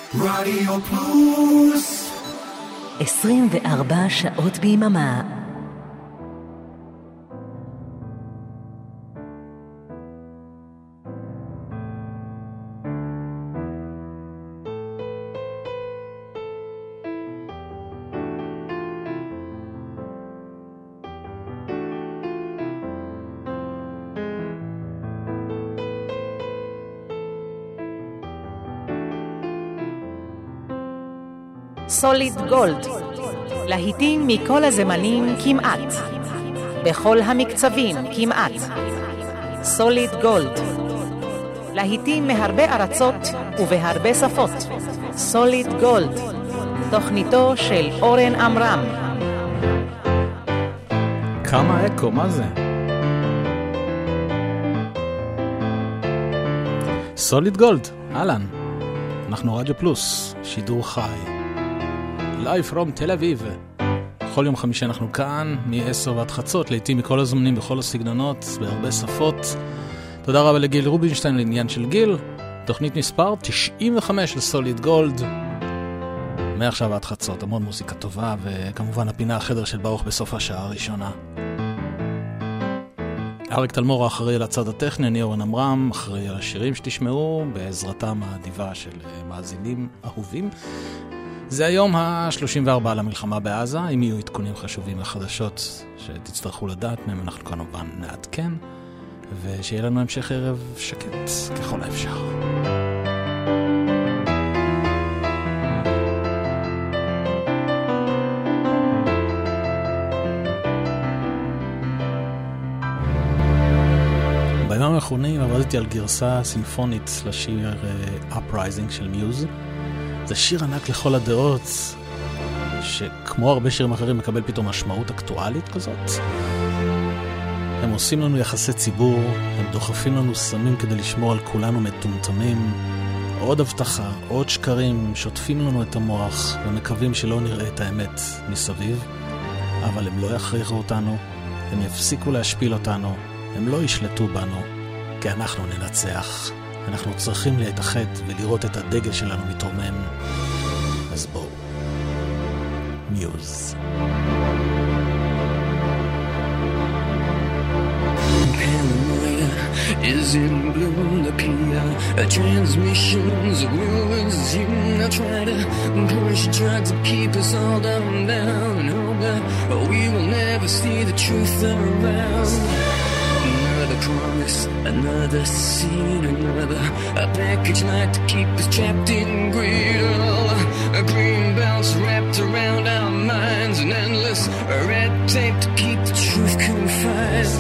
רדיו פלוס 24 שעות ביממה. סוליד גולד, להיטים מכל הזמנים כמעט, בכל המקצבים כמעט. סוליד גולד, להיטים מהרבה ארצות ובהרבה שפות. סוליד גולד, תוכניתו של אורן אמרם. כמה אקו, מה זה? סוליד גולד, אהלן. אנחנו רדיו פלוס, שידור חי. Live from תל אביב. כל יום חמישי אנחנו כאן, מ-10 ועד חצות, לעתים מכל הזמנים, בכל הסגנונות, בהרבה שפות. תודה רבה לגיל רובינשטיין לעניין של גיל. תוכנית מספר 95 לסוליד גולד. מעכשיו ועד חצות, המון מוזיקה טובה, וכמובן הפינה החדר של ברוך בסוף השעה הראשונה. אריק תלמור אחראי על הצד הטכני, אני אורן אמרם, אחראי על השירים שתשמעו, בעזרתם האדיבה של מאזינים אהובים. זה היום ה-34 למלחמה בעזה. אם יהיו עדכונים חשובים לחדשות שתצטרכו לדעת מהם, אנחנו כמובן נעדכן, ושיהיה לנו המשך ערב שקט ככל האפשר. בימים האחרונים עבדתי על גרסה סימפונית לשיר Uprising של מיוז. זה שיר ענק לכל הדעות, שכמו הרבה שירים אחרים מקבל פתאום משמעות אקטואלית כזאת. הם עושים לנו יחסי ציבור, הם דוחפים לנו סמים כדי לשמור על כולנו מטומטמים, עוד הבטחה, עוד שקרים, שוטפים לנו את המוח ומקווים שלא נראה את האמת מסביב, אבל הם לא יכריחו אותנו, הם יפסיקו להשפיל אותנו, הם לא ישלטו בנו, כי אנחנו ננצח. אנחנו צריכים להתאחד ולראות את הדגל שלנו מתרומם. אז בואו. מיוז. Paranoia is in bloom. The PR transmissions will resume. They'll try to push drugs to keep us all down. And hope that we will never see the truth around. Another promise, another scene, another a package like to keep us trapped in greed. A green belts wrapped around our minds, an endless red tape to keep the truth confined.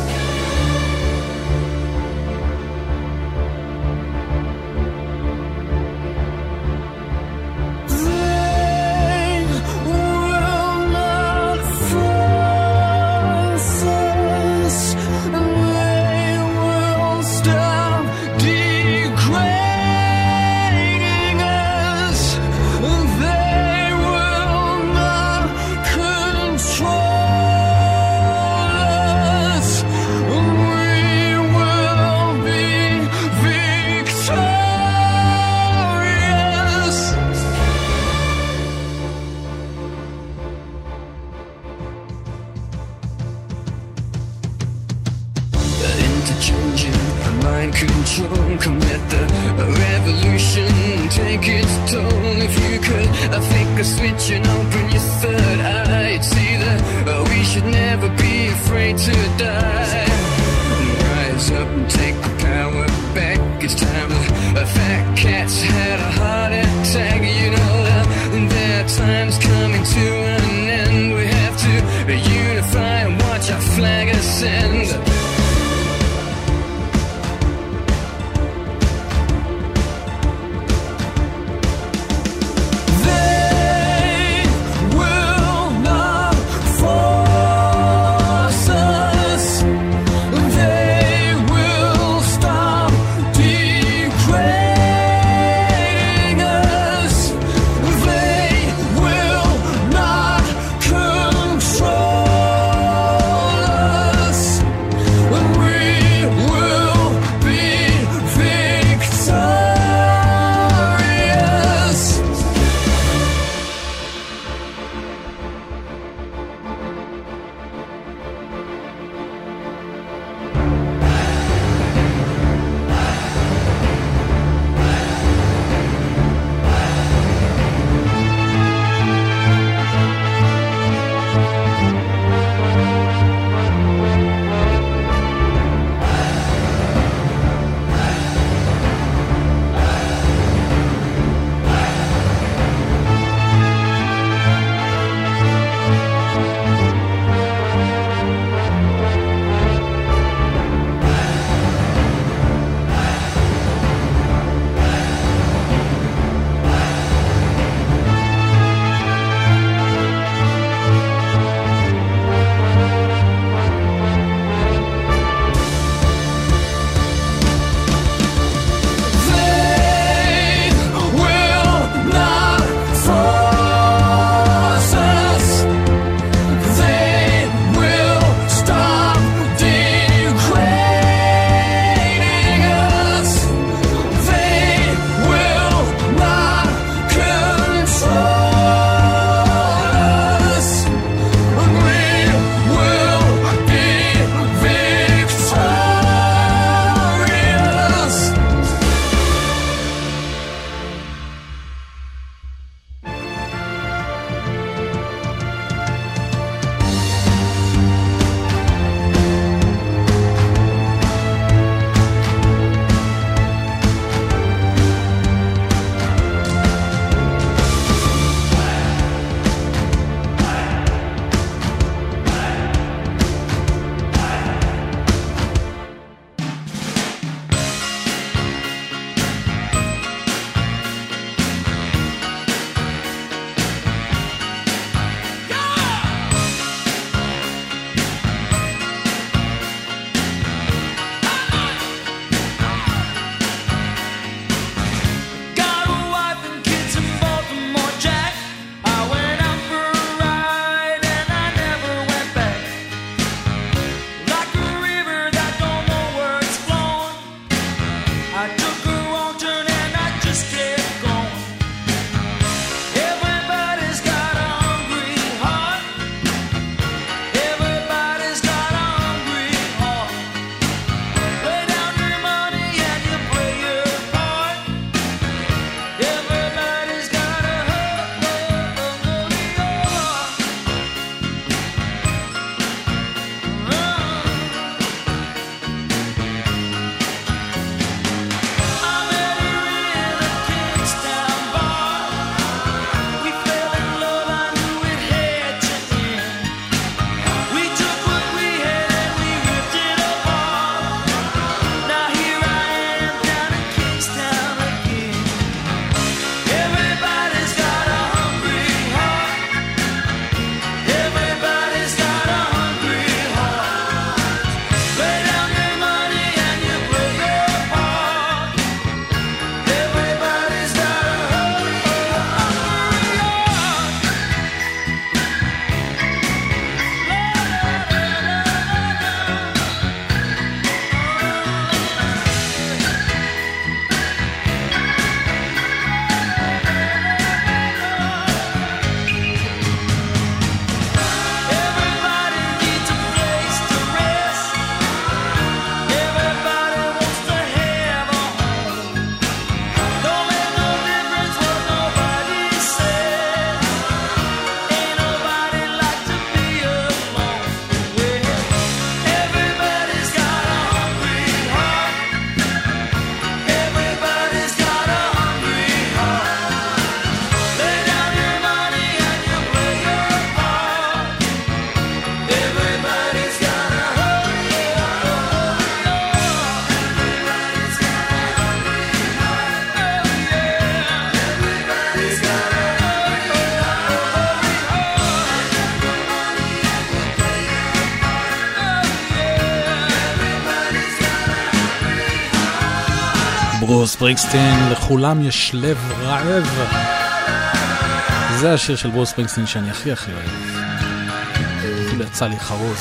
ברוס ספרינגסטין, לכולם יש לב רעב. זה השיר של ברוס ספרינגסטין שאני הכי אוהב. אפילו יצא לי חרוז.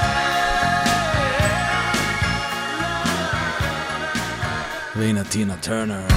והנה טינה טרנר.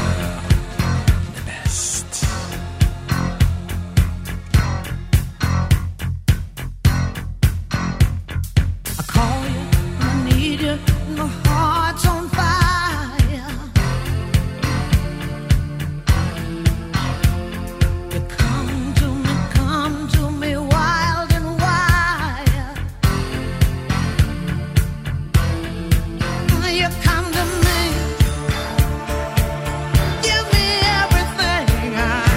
Give me everything I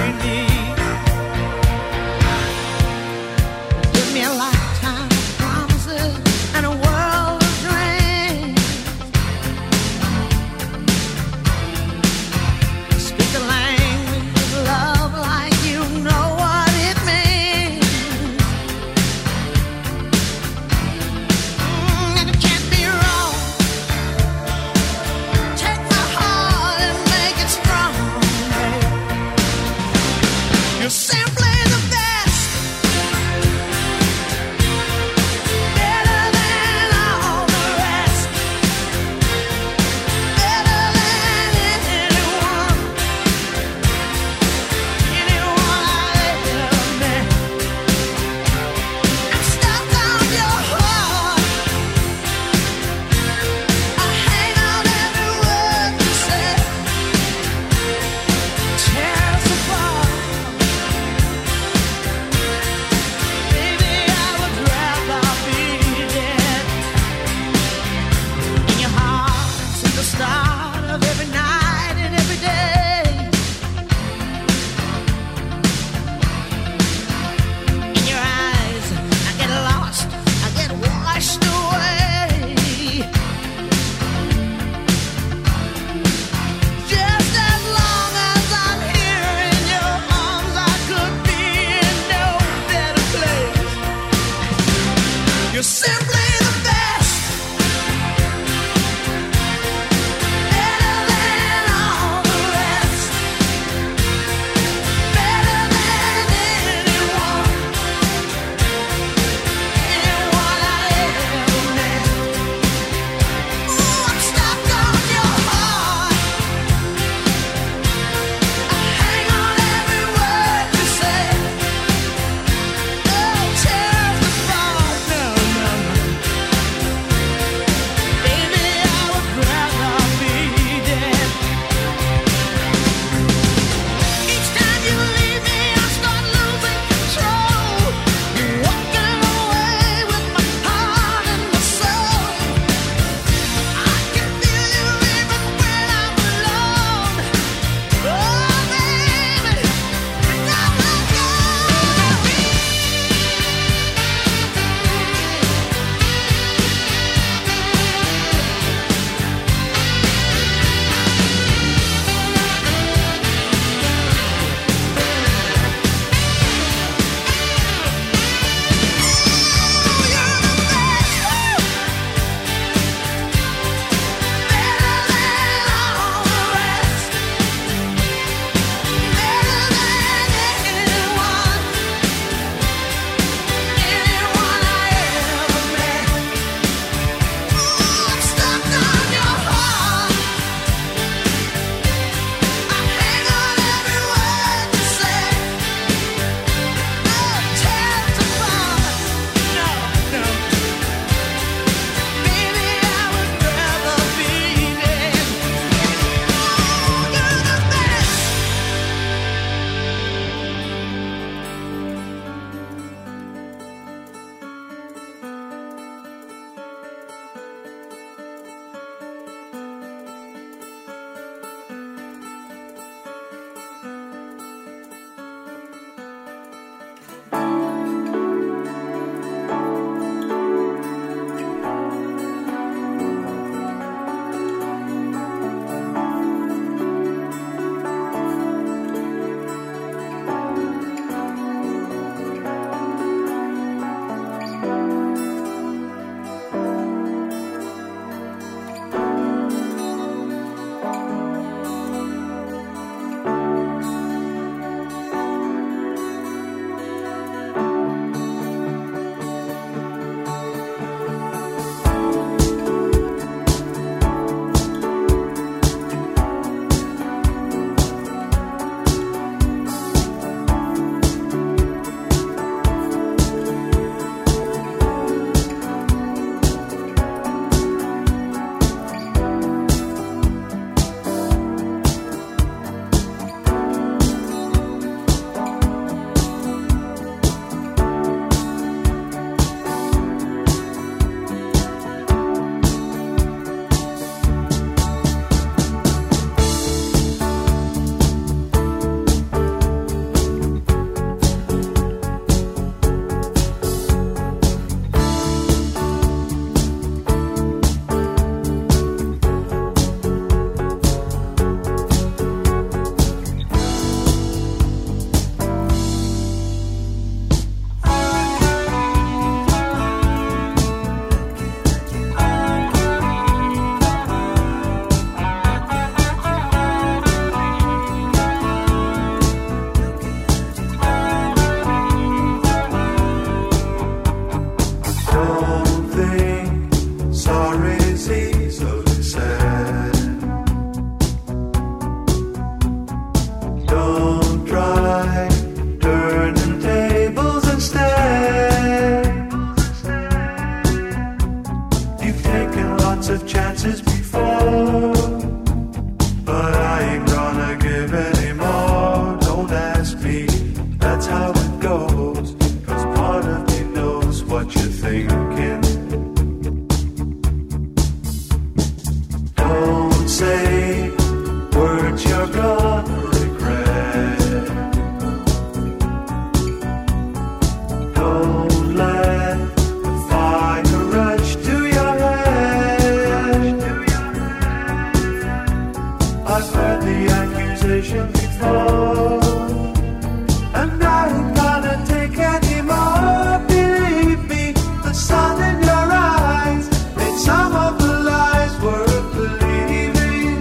vision before. And I ain't gonna take any more. Believe me, the sun in your eyes made some of the lies worth believing.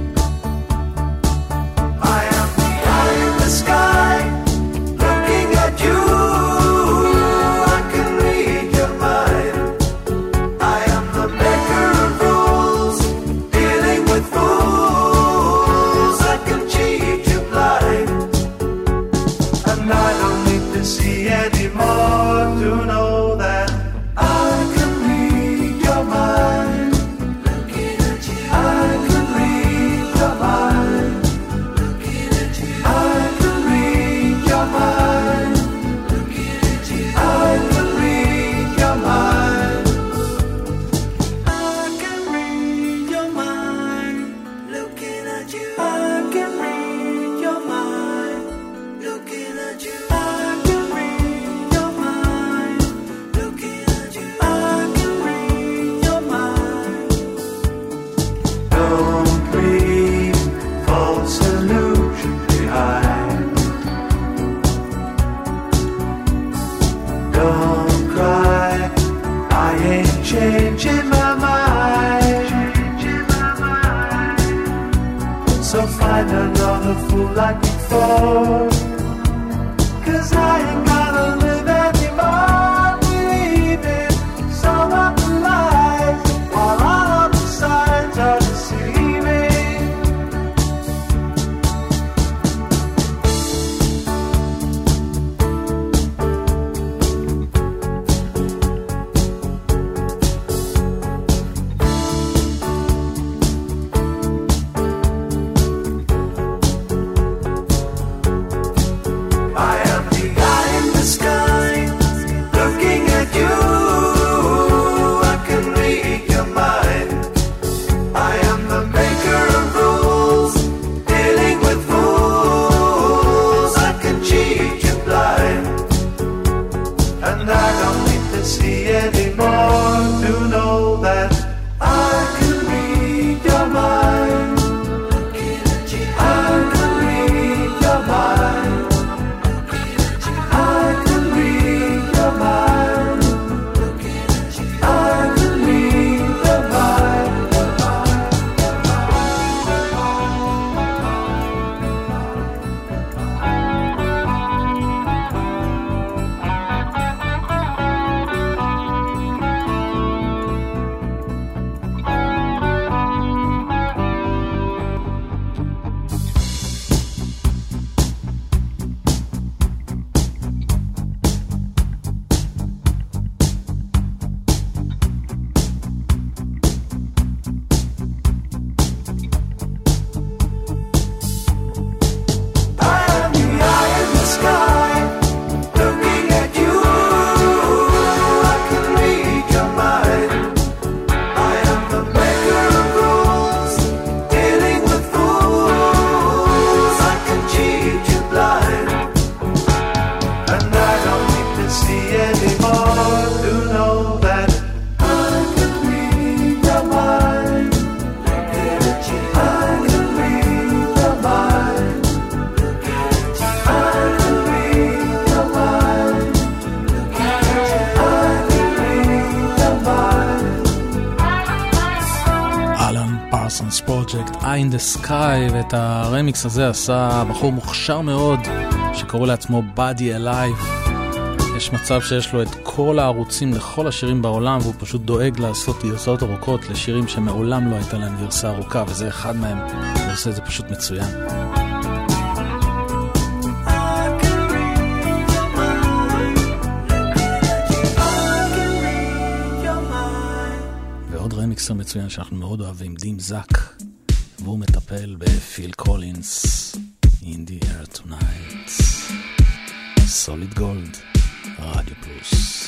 I am the eye in the sky, looking at you. I can read your mind. I am the maker of rules, dealing with fools. I can cheat you blind. And I don't need to see anymore to know that I can read your mind. Looking at you, I can read your mind. Looking at you, I can read your mind. Looking at you, I can read your mind. I can read your mind. Looking at you, I can read your mind. Looking at you, I can read your mind. Looking at you, I can read your mind. Don't leave false illusion behind. Don't cry, I ain't changing my mind. So find another fool like before. 'Cause I ain't gonna live anymore believing some of the lies, while all of the signs are deceiving. I am the eye in the sky, looking at you. I can read your mind. I am the maker of rules, dealing with fools. I can cheat you blind. And I don't need to see anymore to know that I can read your mind. I can read your mind. I can read your mind. I can read your mind. I am the eye in the sky, looking at you. I can read your mind. I am the maker of rules, dealing with fools. I can cheat you blind. And I don't need to see anymore to know that I can read your mind. I can read your mind. I can read your mind. I can read your mind. אלן פרסונס פרוג'קט, Eye in the Sky, ואת הרמיקס הזה עשה בחור מוכשר מאוד שקורא לעצמו Body Alive. יש מצב שיש לו את כל הערוצים לכל השירים בעולם, והוא פשוט דואג לעשות גרסאות ארוכות לשירים שמעולם לא הייתה להם גרסה ארוכה, וזה אחד מהם. הוא עושה את זה פשוט מצוין. ועוד רמיקסר מצוין שאנחנו מאוד אוהבים, דים זק, והוא מטפל בפיל קולינס, In the Air Tonight. סוליד גולד, רדיו פלוס.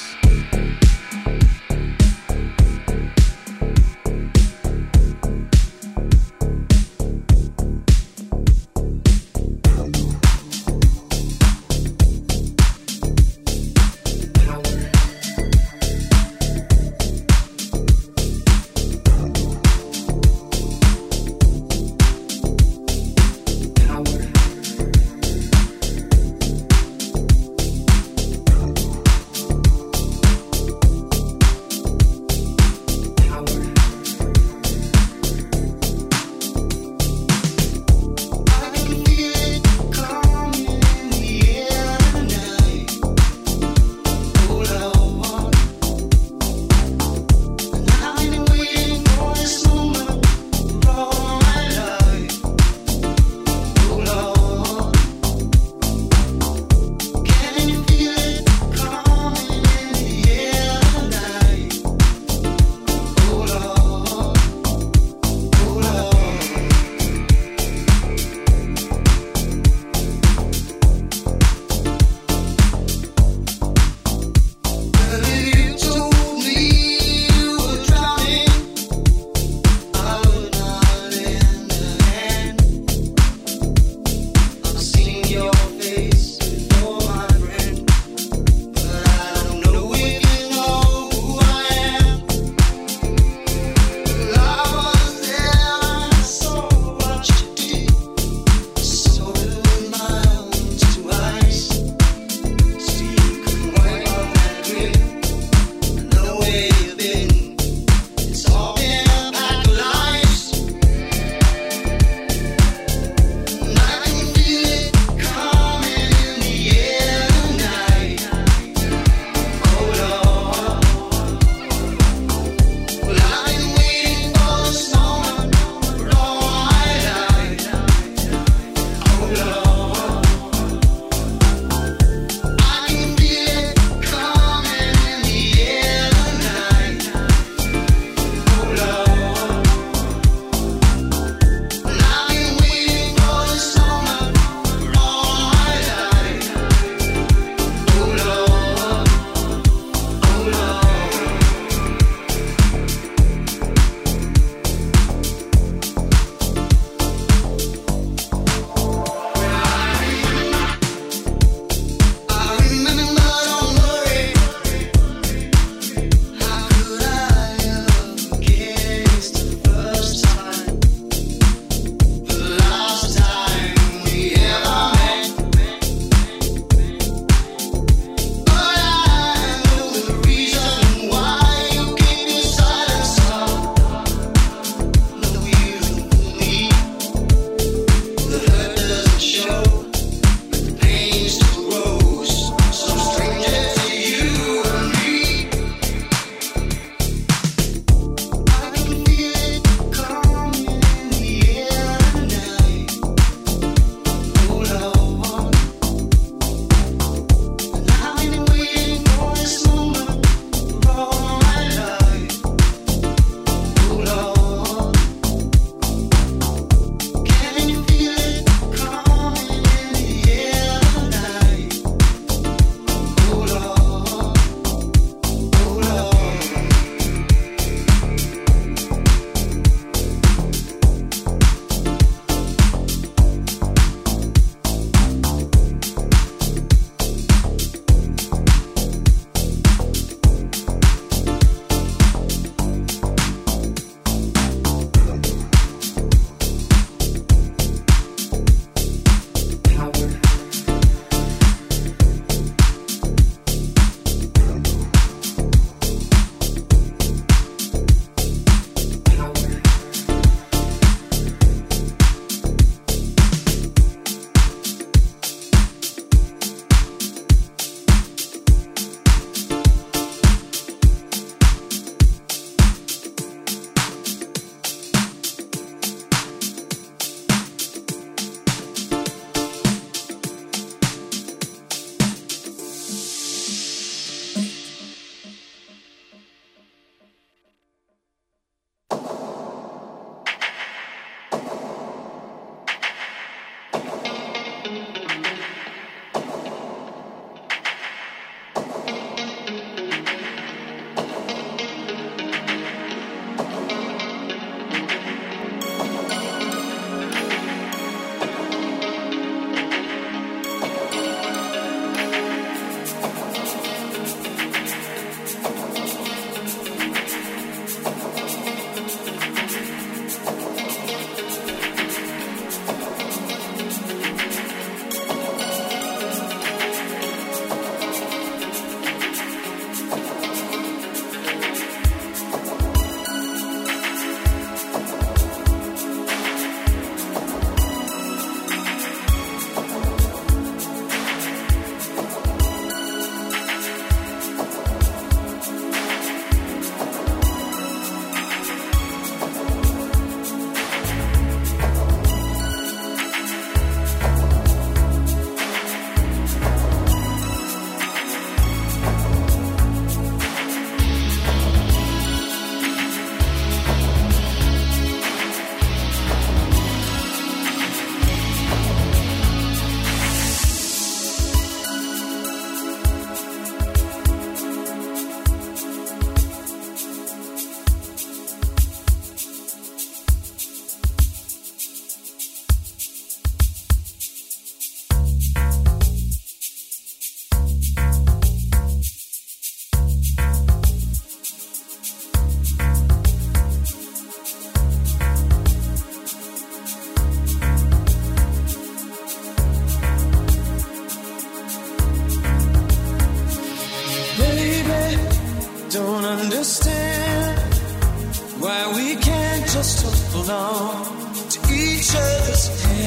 just hold on to each other's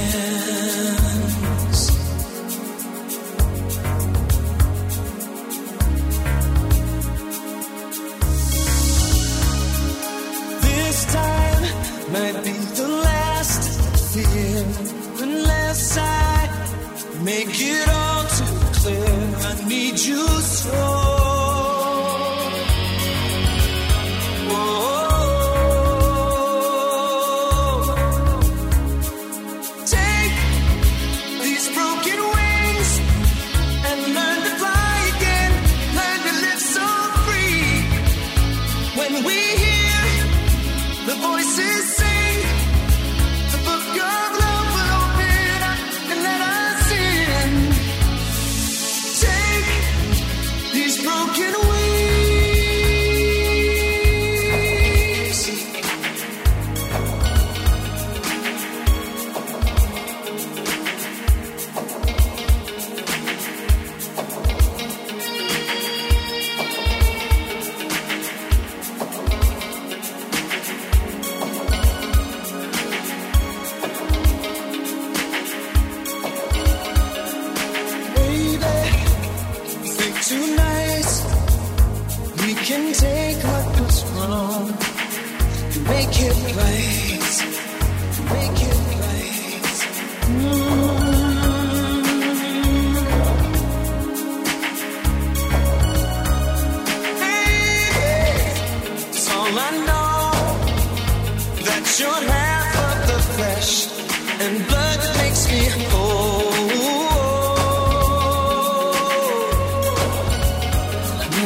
hands. This time might be the last fear unless I make it all too clear. I need you so.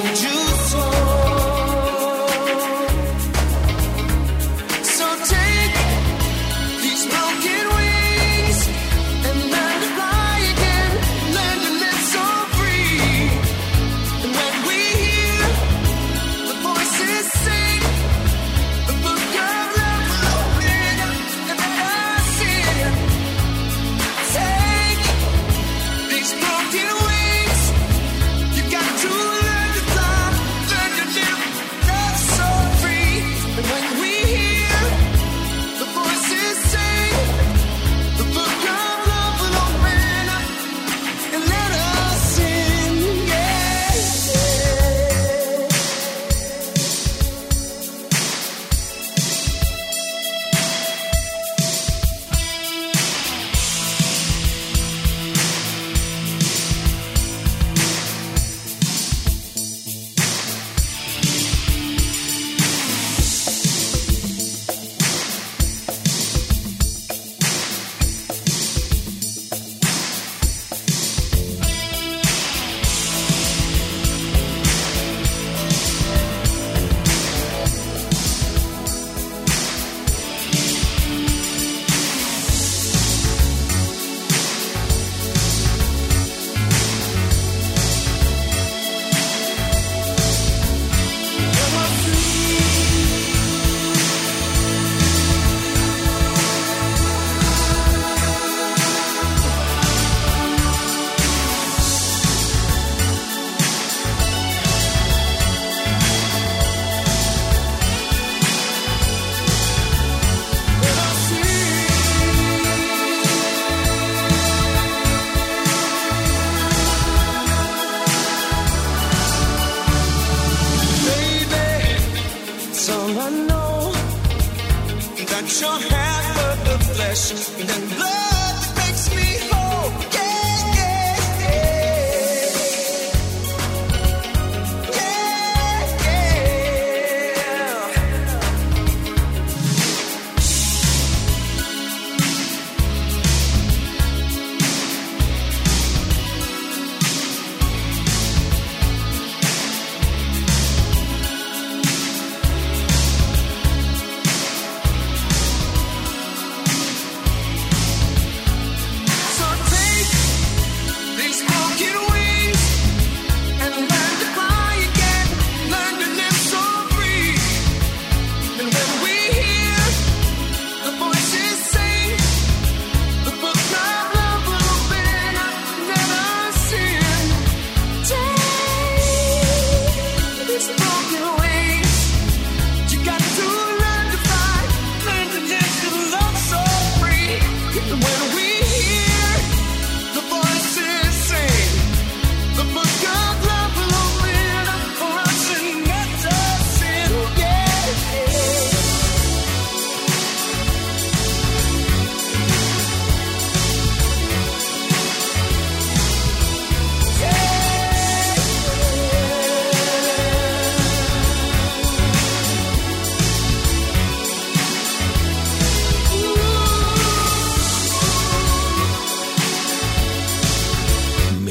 Take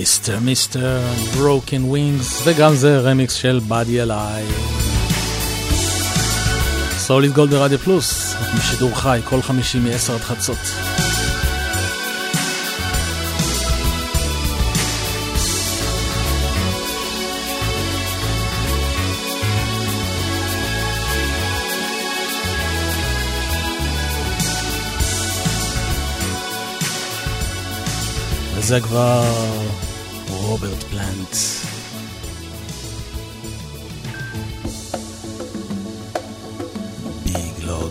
מיסטר ברוקן ווינגס, וגם זה רמיקס של בדי אליי. סוליד גולד ברדיו פלוס, משידור חי כל חמישי מ-10 עד חצות. וזה כבר רוברט פלנט. ביג לוג.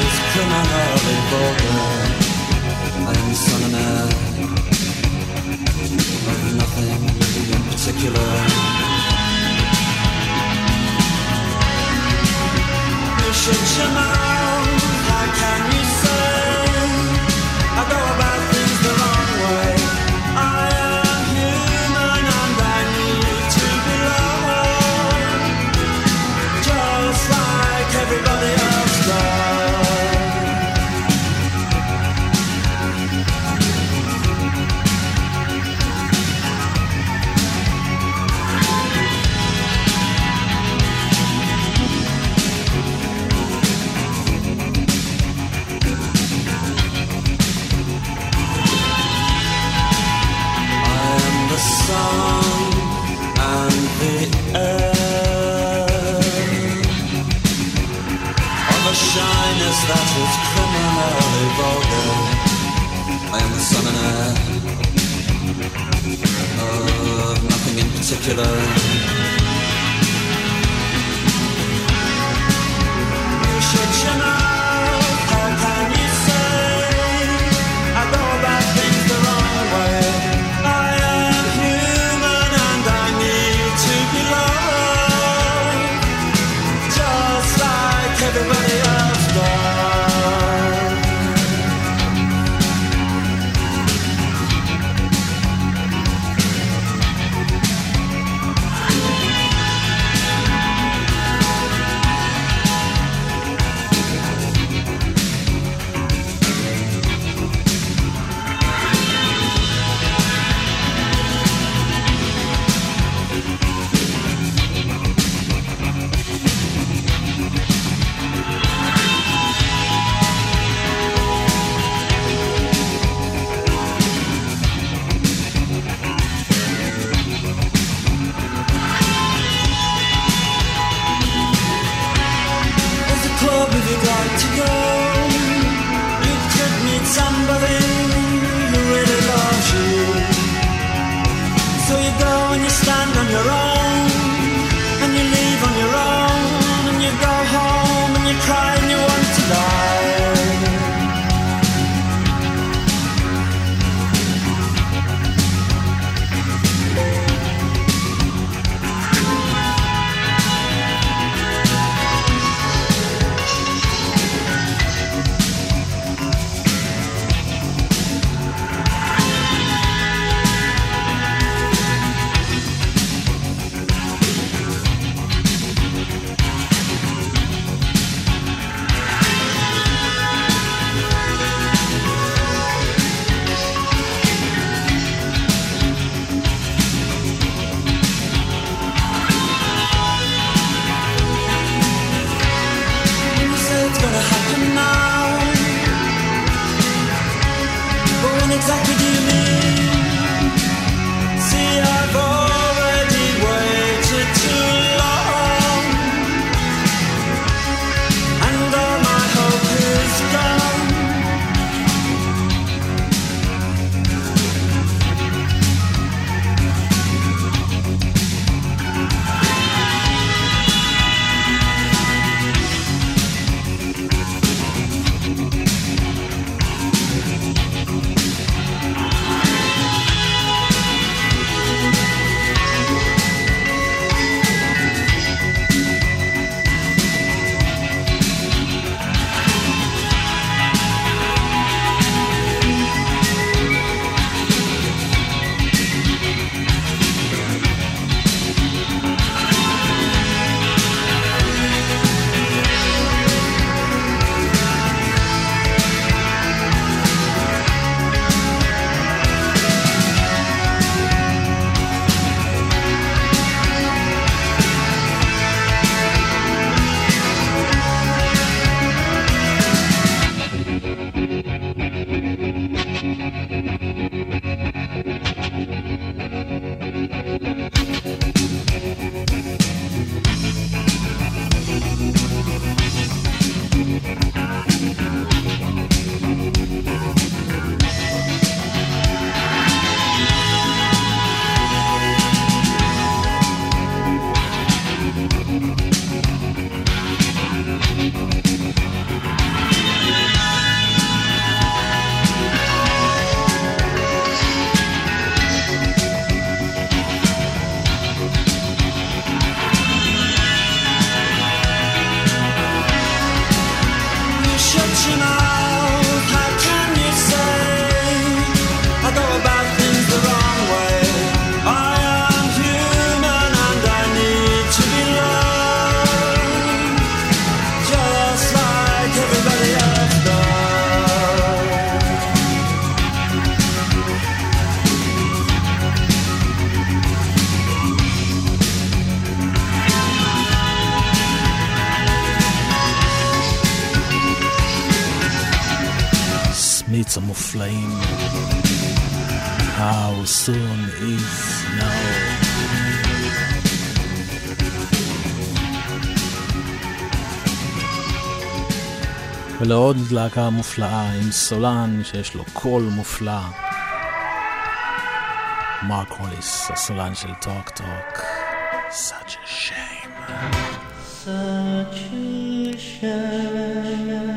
is criminally vulgar. I am the son and heir of nothing in particular. You should know, how can you say I go about things the wrong way? I am human and I need to be loved, just like everybody else does. Sun and the air of a shyness that is criminally vulgar. I am the sun and air of nothing in particular. You should know, how can you say I go about things the wrong way? Everybody else does. דאוטס המופלאים. How soon is now. ולעוד להקה מופלאה עם סולן שיש לו קול מופלא, מרק הוליס, הסולן של טוק טוק. Such a shame. Such a shame.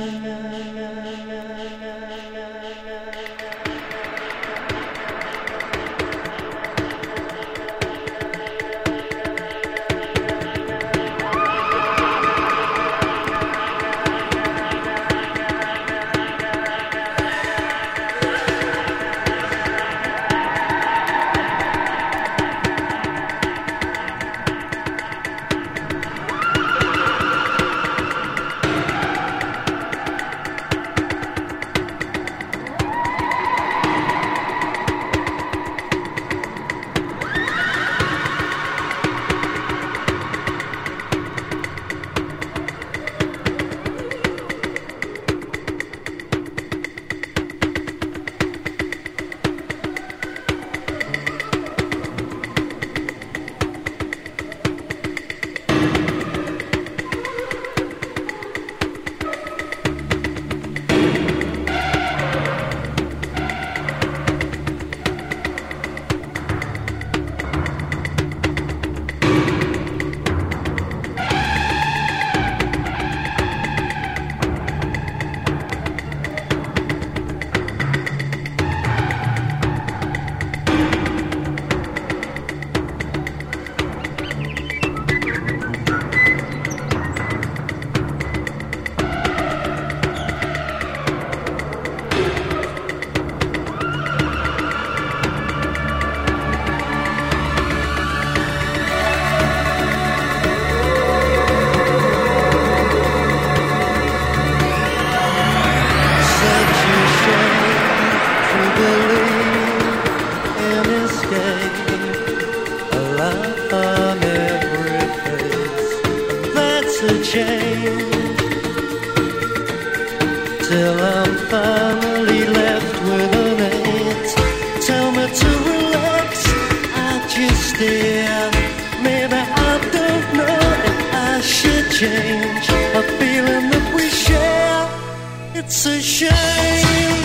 Till I'm finally left with an eight. Tell me to relax, I just stare. Maybe I don't know if I should change a feeling that we share. It's a shame.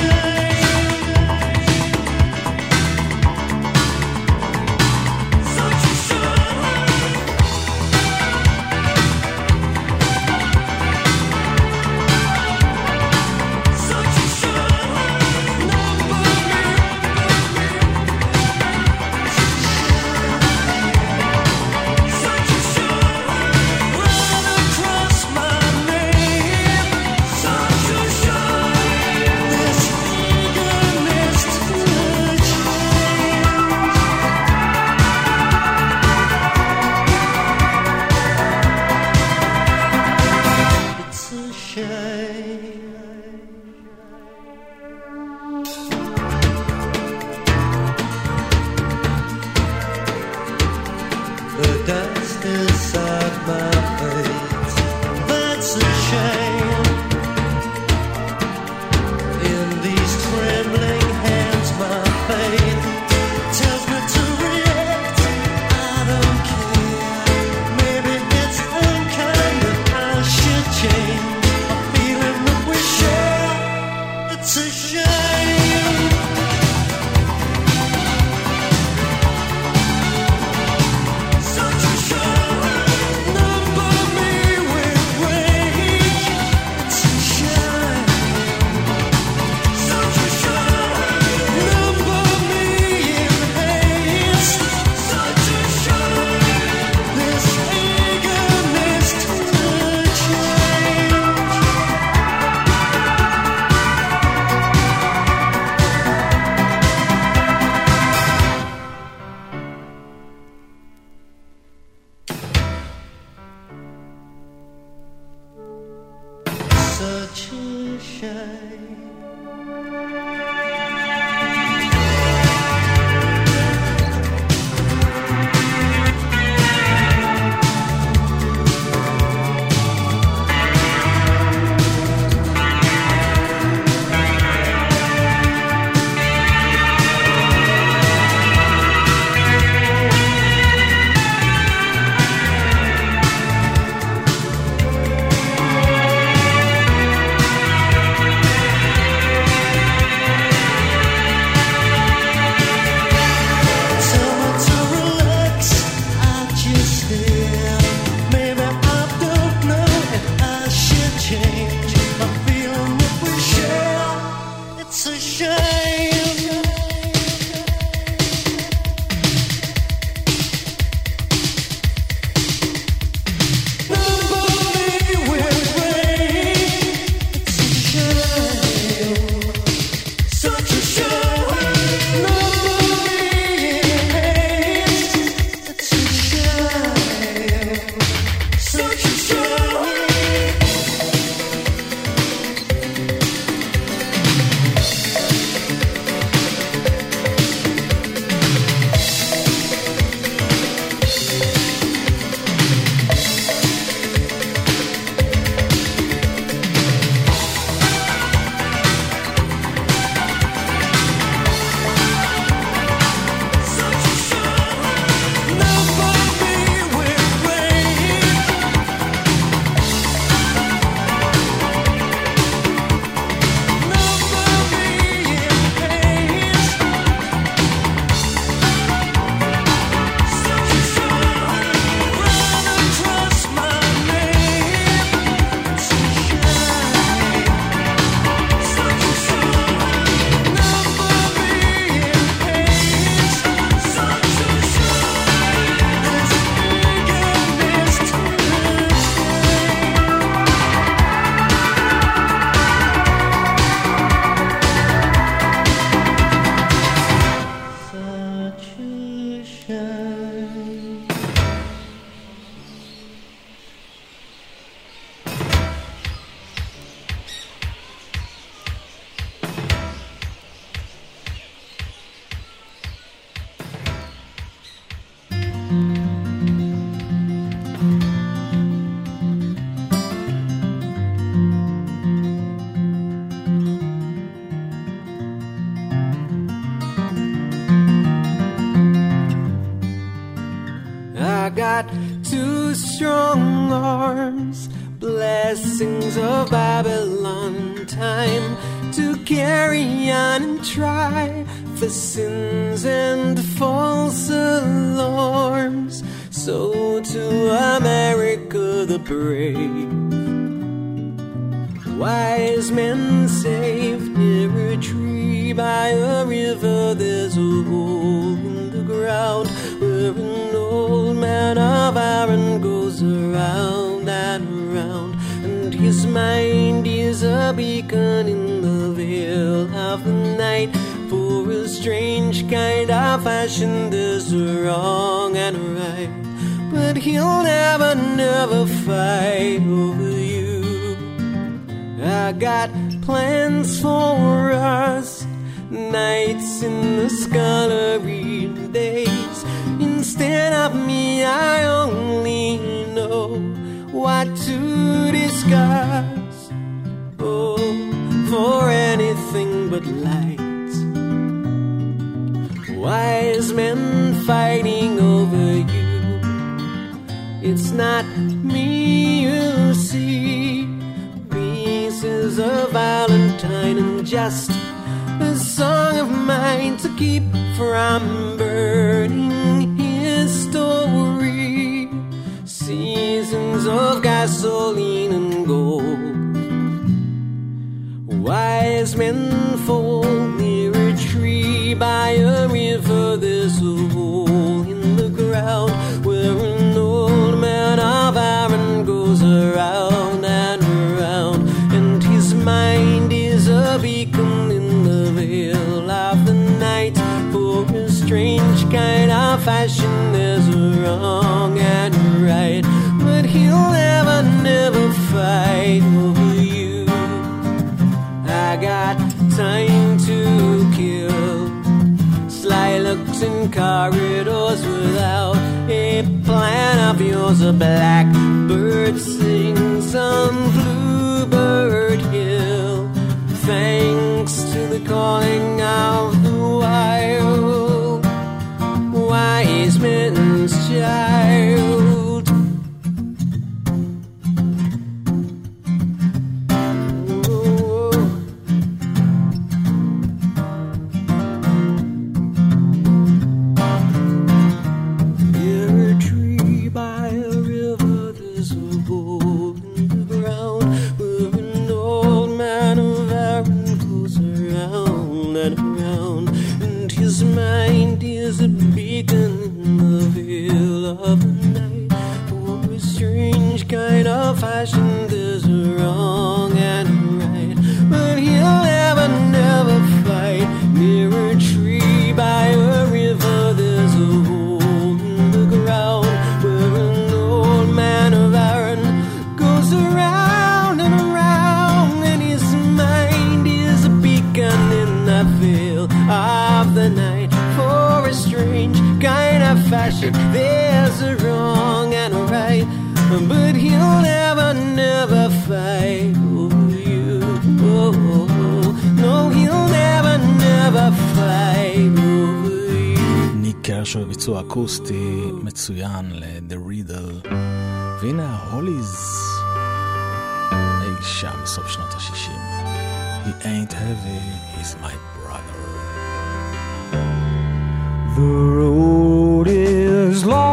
a shame. Nobody will rain. It's a shame. Such a shame. Nobody hates. It's a shame. Such a shame. I got two strong arms, blessings of Babylon, time to carry on and try for sins and false alarms. So to America the brave, wise men saved near a tree by a river. There's a hole in the ground where an old man of iron goes around and around, and his mind is a beacon in the veil of the night. For a strange kind of fashion, there's a wrong and a right, but he'll never, never fight over you. I got plans for us, nights in the scullery, days instead of me. I only know what to discuss. Oh, for anything but light. Wise men fighting over you. It's not me you see. Pieces of Valentine and just a song of mine to keep from burning his story. Seasons of gasoline and gold. Wise men fold near a tree by a river. There's a hole in the ground where an old man of iron goes around and around, and his mind is a beacon in the veil of the night. For a strange kind of fashion, there's a wrong and a right, but he'll never, never fight over you. I got time to kill, sly looks in corridors without a plan of yours. A blackbird sings on Bluebird Hill, thanks to the calling of the wild, wise men's child. Near a tree by a river, there's a hole in the ground where an old man fashion. There's a wrong and a right, but he'll never, never fight over you. Oh, no, he'll never, never fight over you. ניק קרשו ביצוע אקוסטי מצוין ל-The Riddle. והנה ההוליז אי שם בסוף שנות ה-60. He ain't heavy, he's my brother. The road is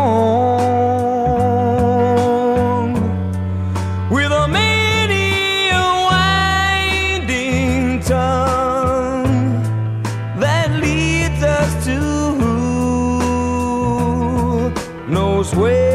long with a many a winding tongue that leads us to who knows where.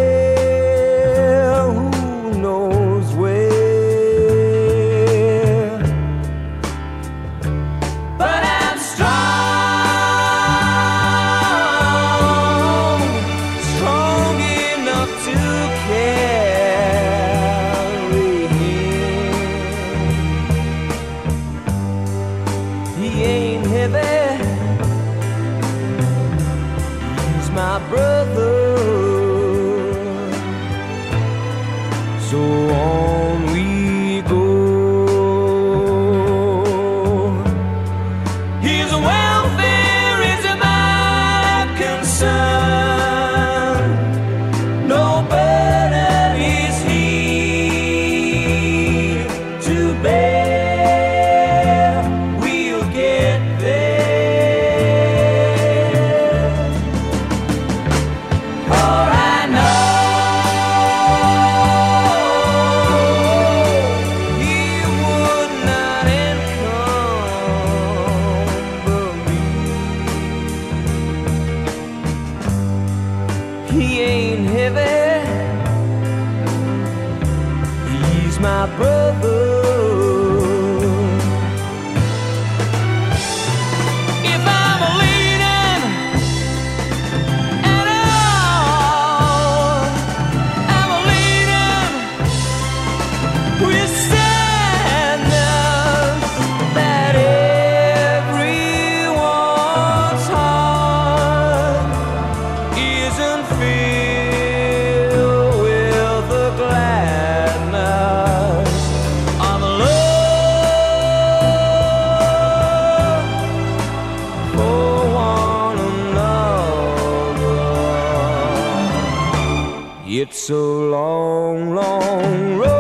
It's a long, long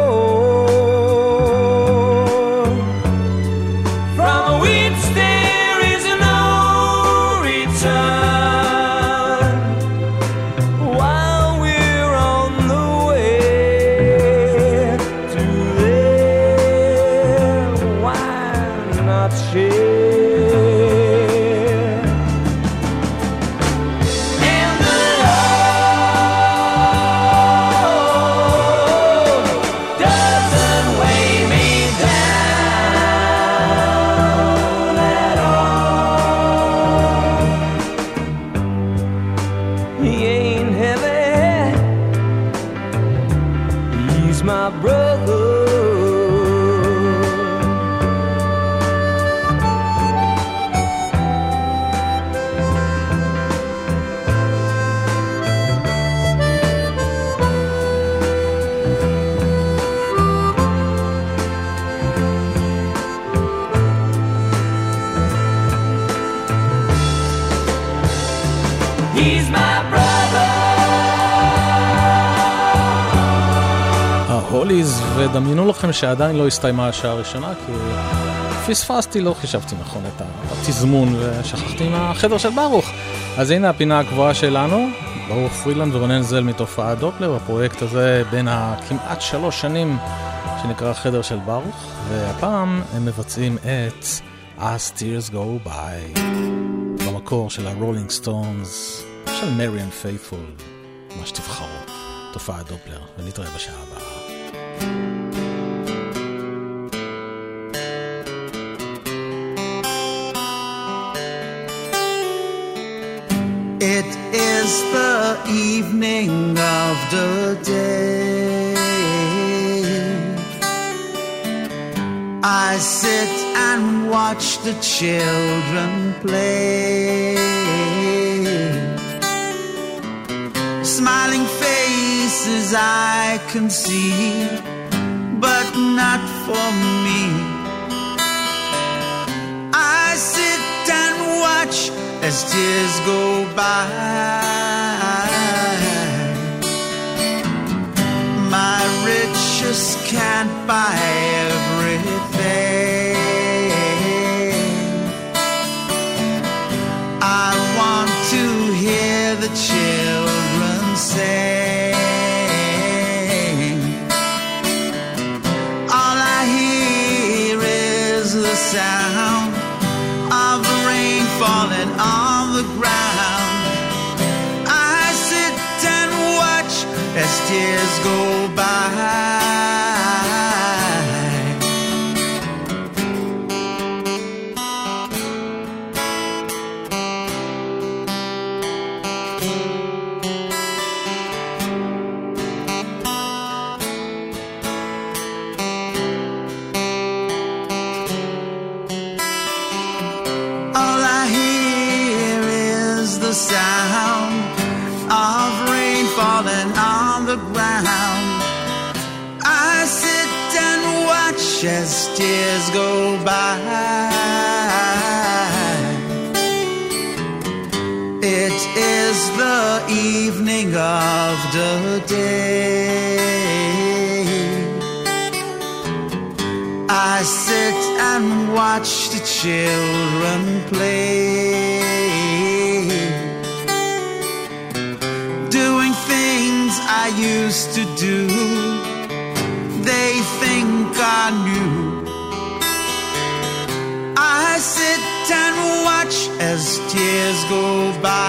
road from which there is no return. While we're on the way to there, why not share? ודמיינו לכם שעדיין לא הסתיימה השעה הראשונה, כי פספסתי, לא חישבתי נכון את התזמון ושכחתי מהחדר של ברוך. אז הנה הפינה הקבועה שלנו, ברוך פרילנד ורונן זל מתופעת דופלר, הפרויקט הזה בין הכמעט 3 שנים שנקרא חדר של ברוך, והפעם הם מבצעים את As Tears Go By במקור של הרולינג סטונס, של מריאן פייתפול, מה שתבחרו, תופעת דופלר, ונתראה בשעה הבאה. It is the evening of the day. I sit and watch the children play. smiling faces I can see, but not for me. I sit and watch as tears go by. My riches can't buy everything. I want to hear the children sing. All I hear is the sound of the rain falling on the ground. I sit and watch as tears go by. All I hear is the sound of rain falling on the ground. I sit and watch as tears go by. It is the evening of the day. I sit and watch the children play, doing things I used to do. They think I knew. I sit and watch as tears go by.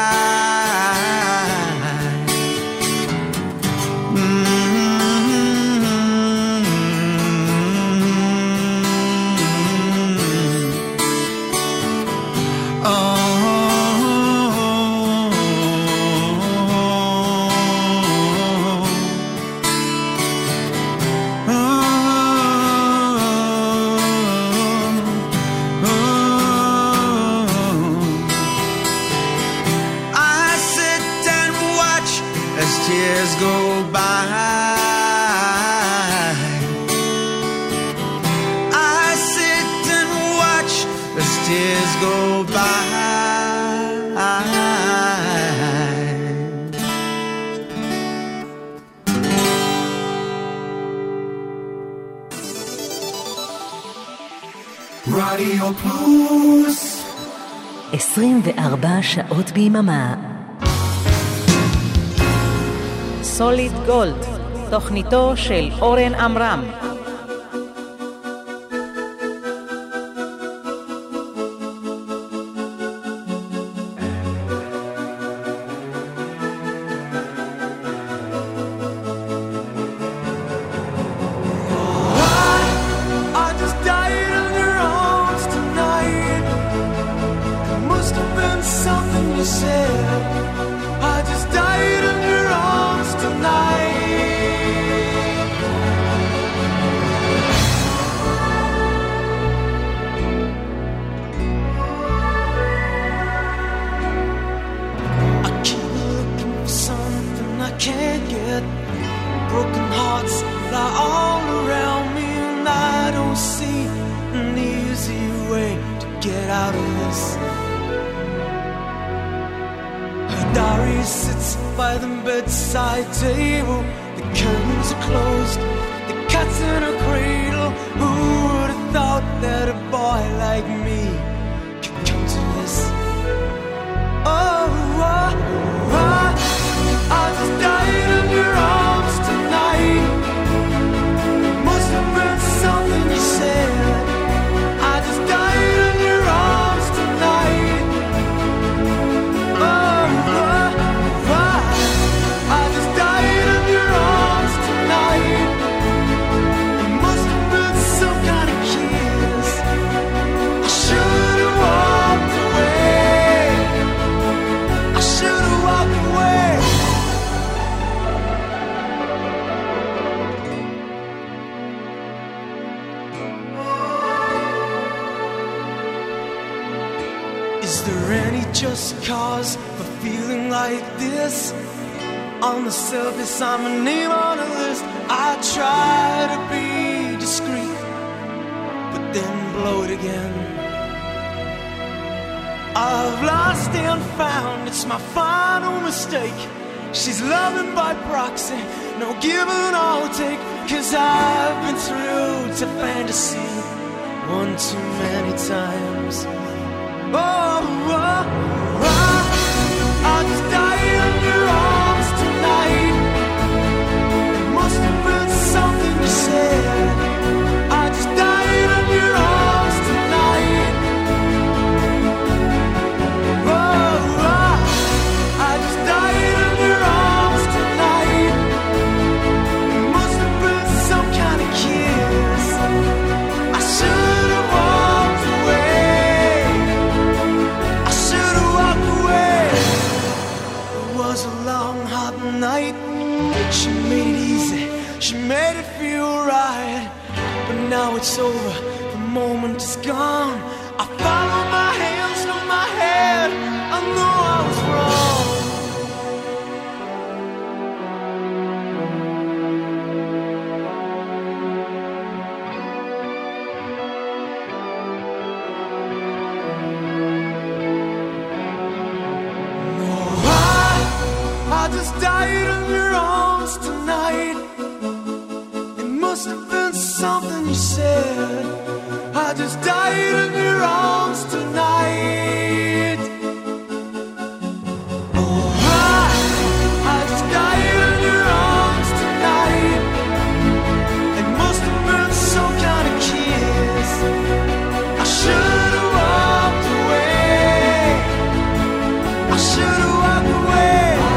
Tears go by. I sit and watch as tears go by. רדיו פלוס 24 שעות ביממה. סוליד גולד, תוכניתו של אורן עמרם. I just died in your arms tonight. It must have been something you said. I just died in your arms tonight. I keep looking for something I can't get. Broken hearts lie all around me, and I don't see an easy way to get out of this. Her diary sits by the bedside table. The curtains are closed, the cat's in a cradle. Who would have thought that a boy like me could come to this? Oh, I just died in your arms tonight. Must have been something you said. I just died in your arms tonight. Oh, I just died in your arms tonight. It must have been some kind of kiss. I should have walked away. I should have walked away. Is there any just cause for feeling like this? On the surface, I'm a name on a list. I try to be discreet, but then blow it again. I've lost and found, it's my final mistake. She's loving by proxy, no give and all take. 'Cause I've been through to fantasy one too many times. I just died in your arms tonight. It must have been something you said. I just died in your arms tonight. I just died in your arms tonight. It must have been some kind of kiss. I should have walked away. I should have walked away. It was a long, hot night. She made it easy. She made it feel right. But now it's over. The moment is gone. I follow my hands to my head. I know I was wrong. I just died in your arms tonight. It must have been something you said. I just died in your arms tonight. I just died in your arms tonight. It must have been some kind of kiss. I should have walked away. I should have walked away.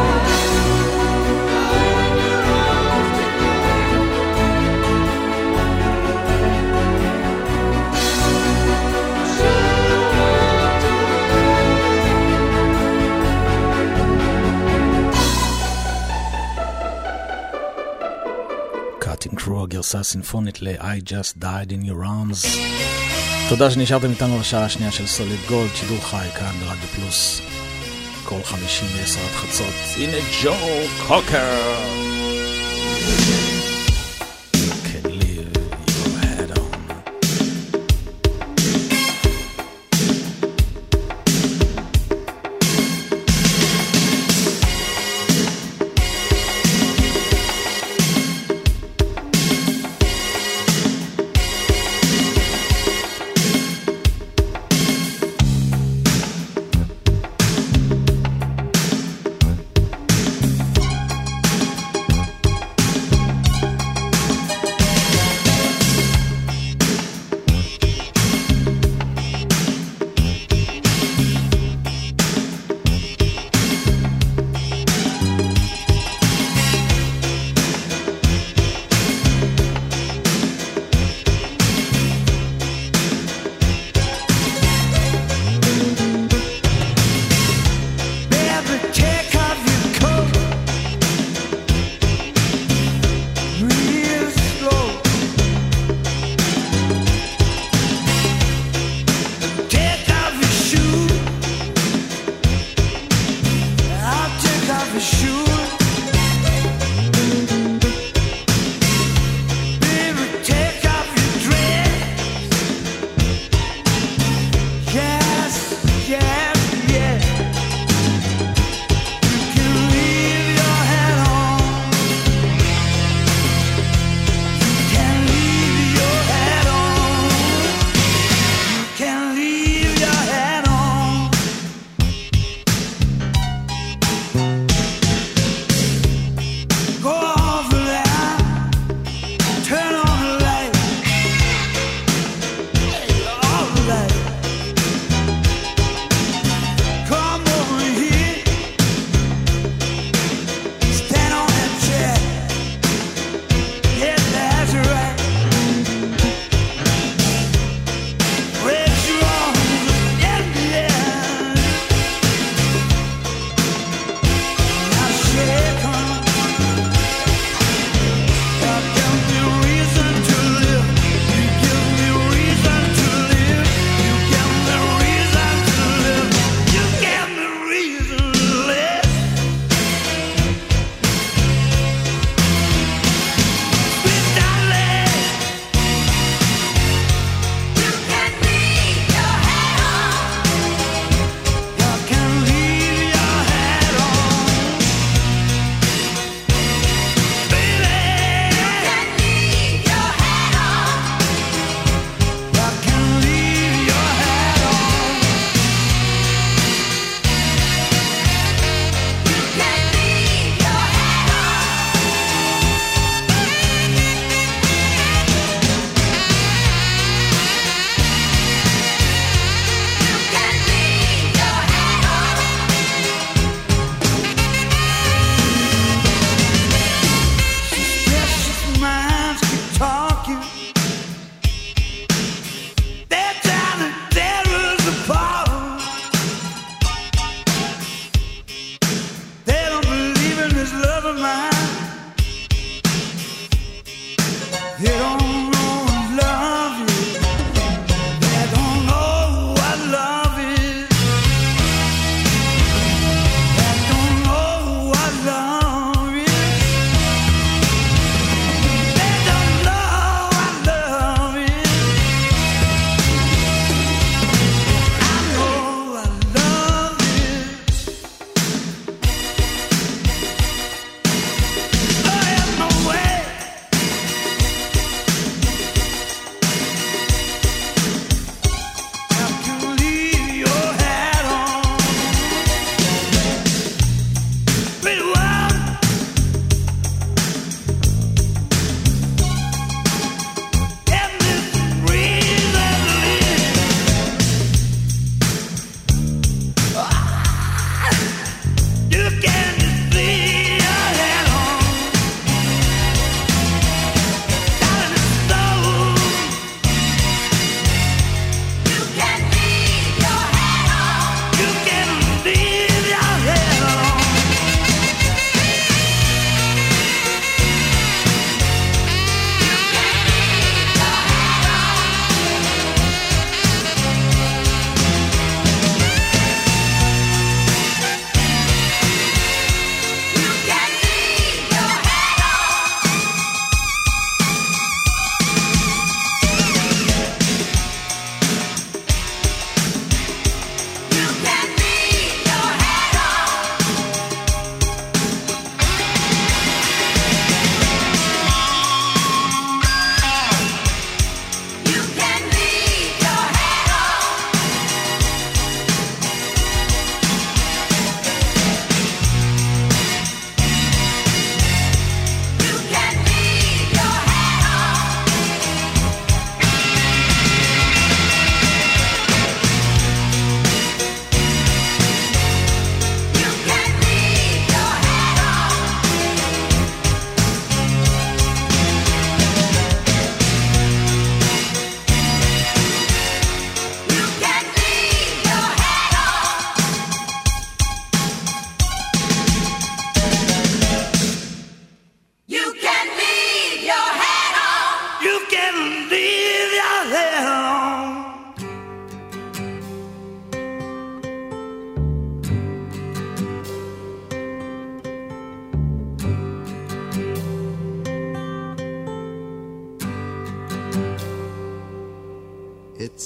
הגרסה הסימפונית ל-I Just Died in Your Arms. תודה שנשארתם איתנו לשעה השנייה של סוליד גולד, שידור חי כאן ברדיו פלוס, כל 50 ל-10 עד חצות. הנה ג'ו קוקר.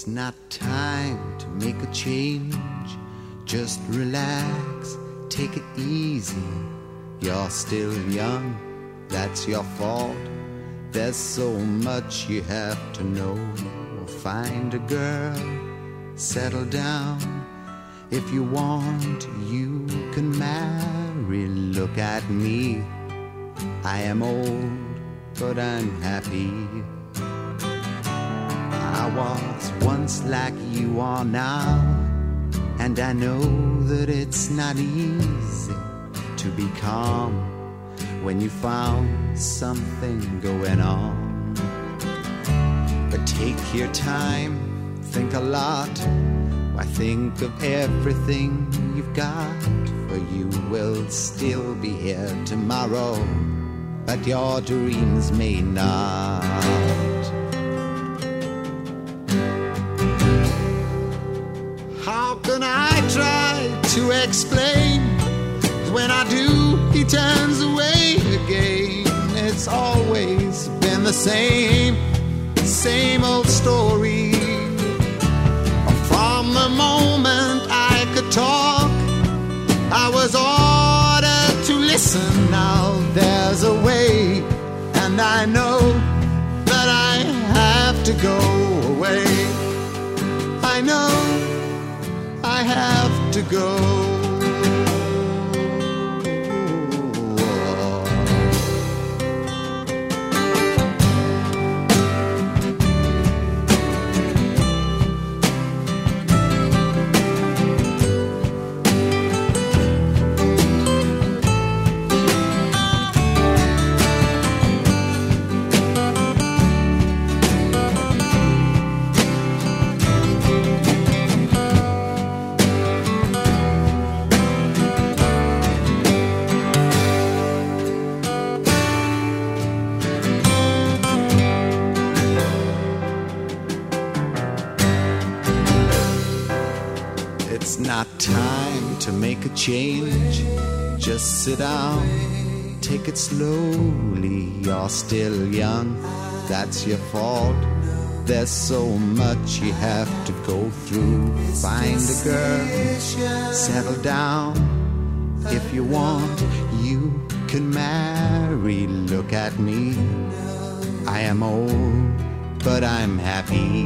It's not time to make a change. Just relax, take it easy. You're still young, that's your fault. There's so much you have to know. Find a girl, settle down. If you want, you can marry. Look at me, I am old, but I'm happy. I was once like you are now, and I know that it's not easy to be calm when you found something going on. But take your time, think a lot. Why, think of everything you've got, for you will still be here tomorrow, but your dreams may not. How can I try to explain? When I do, he turns away again. It's always been the same old story. From the moment I could talk, I was ordered to listen. Now there's a way, and I know that I have to go away. I know I have to go. Not time to make a change. Just sit down, take it slowly. You're still young, that's your fault. There's so much you have to go through. Find a girl, settle down. If you want, you can marry. Look at me, I am old, but I'm happy.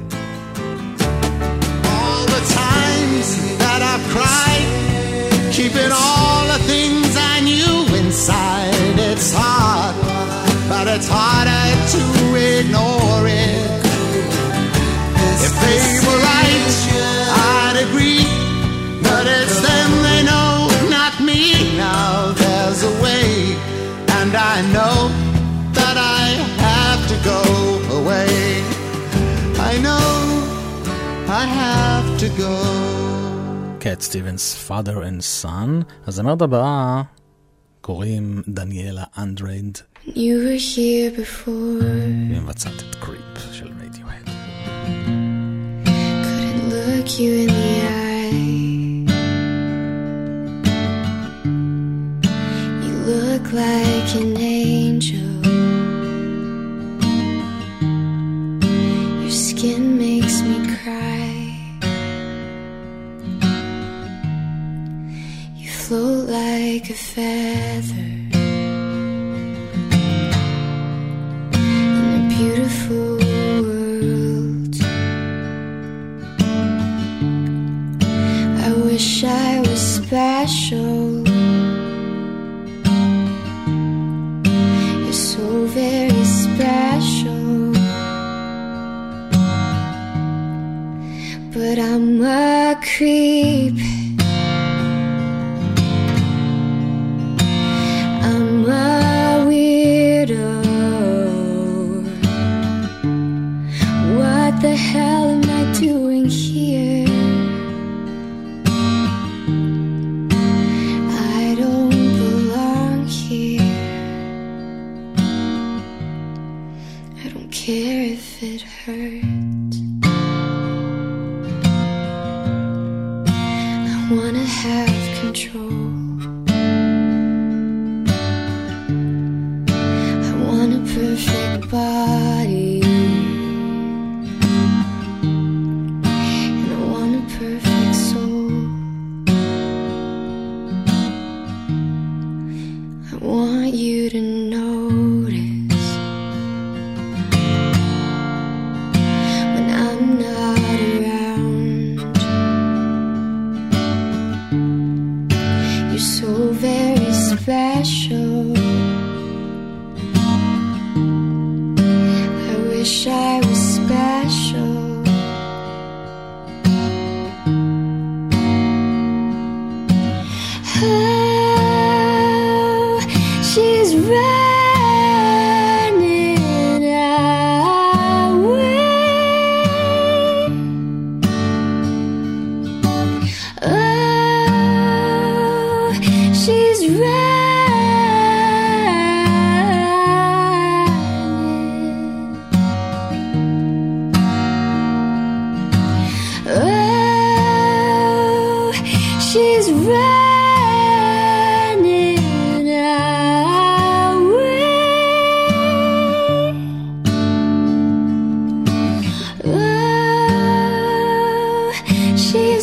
All the times that I've cried, keeping all the things I knew inside. It's hard, but it's harder to ignore it. If they were right, I'd agree, but it's them they know, not me. Now there's a way, and I know that I have to go away. I know I have to go. קט סטיבנס, Father and Son. הזמרת הבאה קוראים דניאלה אנדרייד. You were here before. היא מבצעת את קריפ של רדיוהד. Couldn't look you in the eye. You look like an angel. Your skin makes me cry. Float like a feather in a beautiful world. I wish I was special. You're so very special, but I'm a creep. What the hell am I doing here? I don't belong here. I don't care if it hurts. I wanna have control. I want a perfect body. Oh, she's running away. Oh, she's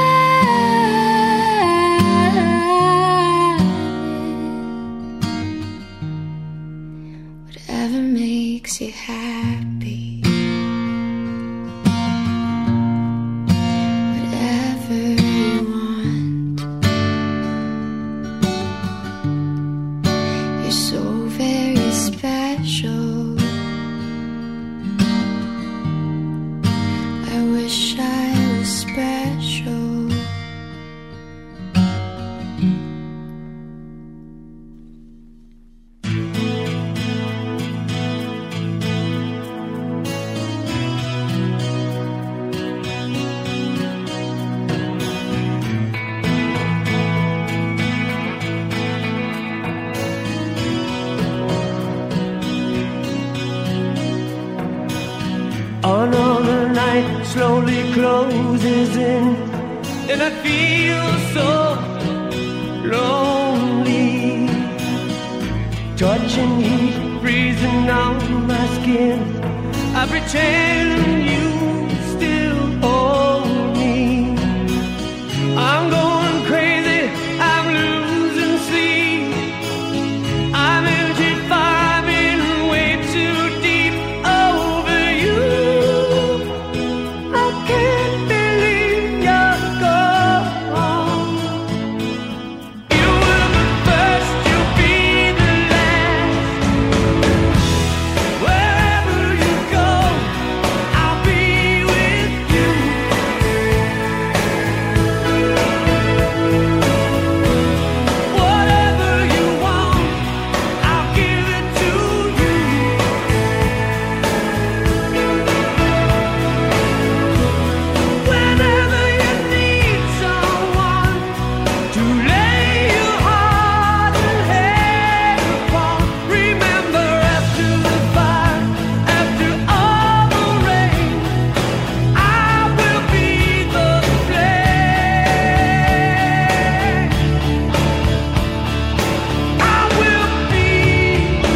running. Whatever makes you happy. Whatever you want. You're so very special. I wish I was special. Another night slowly closes in, and I feel so lonely. Touching heat freezing on my skin. I pretend you still hold me. I'm going crazy, I'm losing sleep. I'm into fire, been way too deep over you. I can't believe you're gone. You were the first, you'll be the last. Wherever you go, I'll be with you. Whatever you want, I'll give it to you. Whenever you need someone to lay your heart and head upon, remember after the fire, after all the rain, I will be the flame. I will be the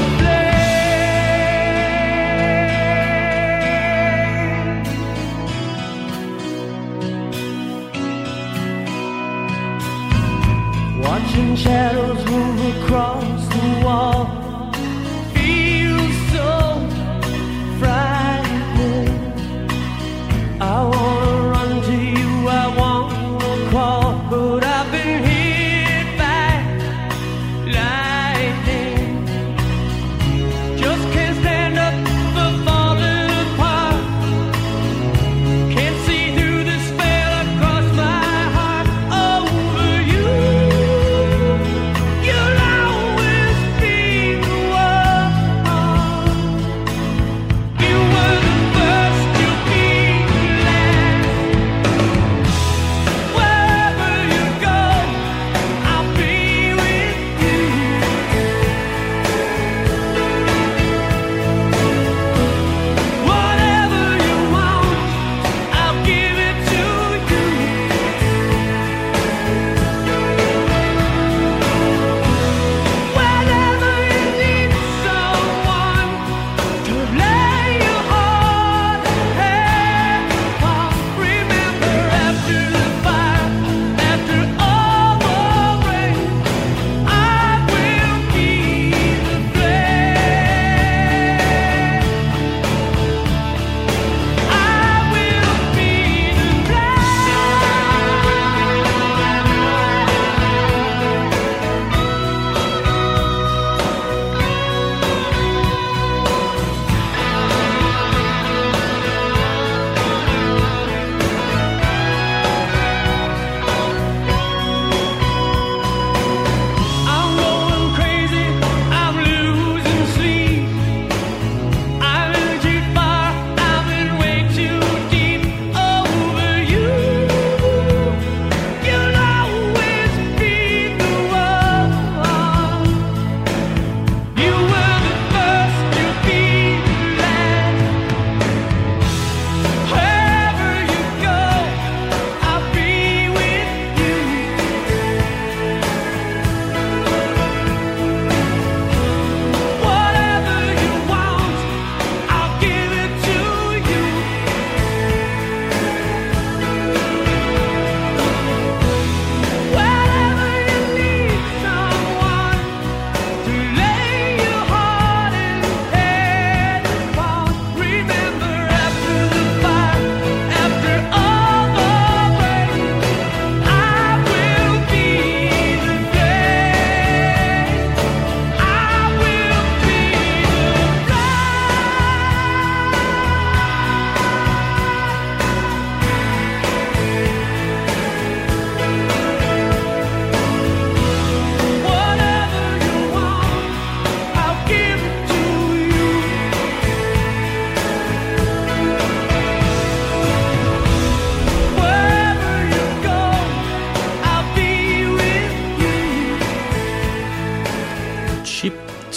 flame. Watching shadows move across the wall feels so frightening. I wanna run to you, I wanna crawl, but I've been hit by lightning. Just can't stand up for falling apart. Can't see through the spell across my heart over you. You'll always be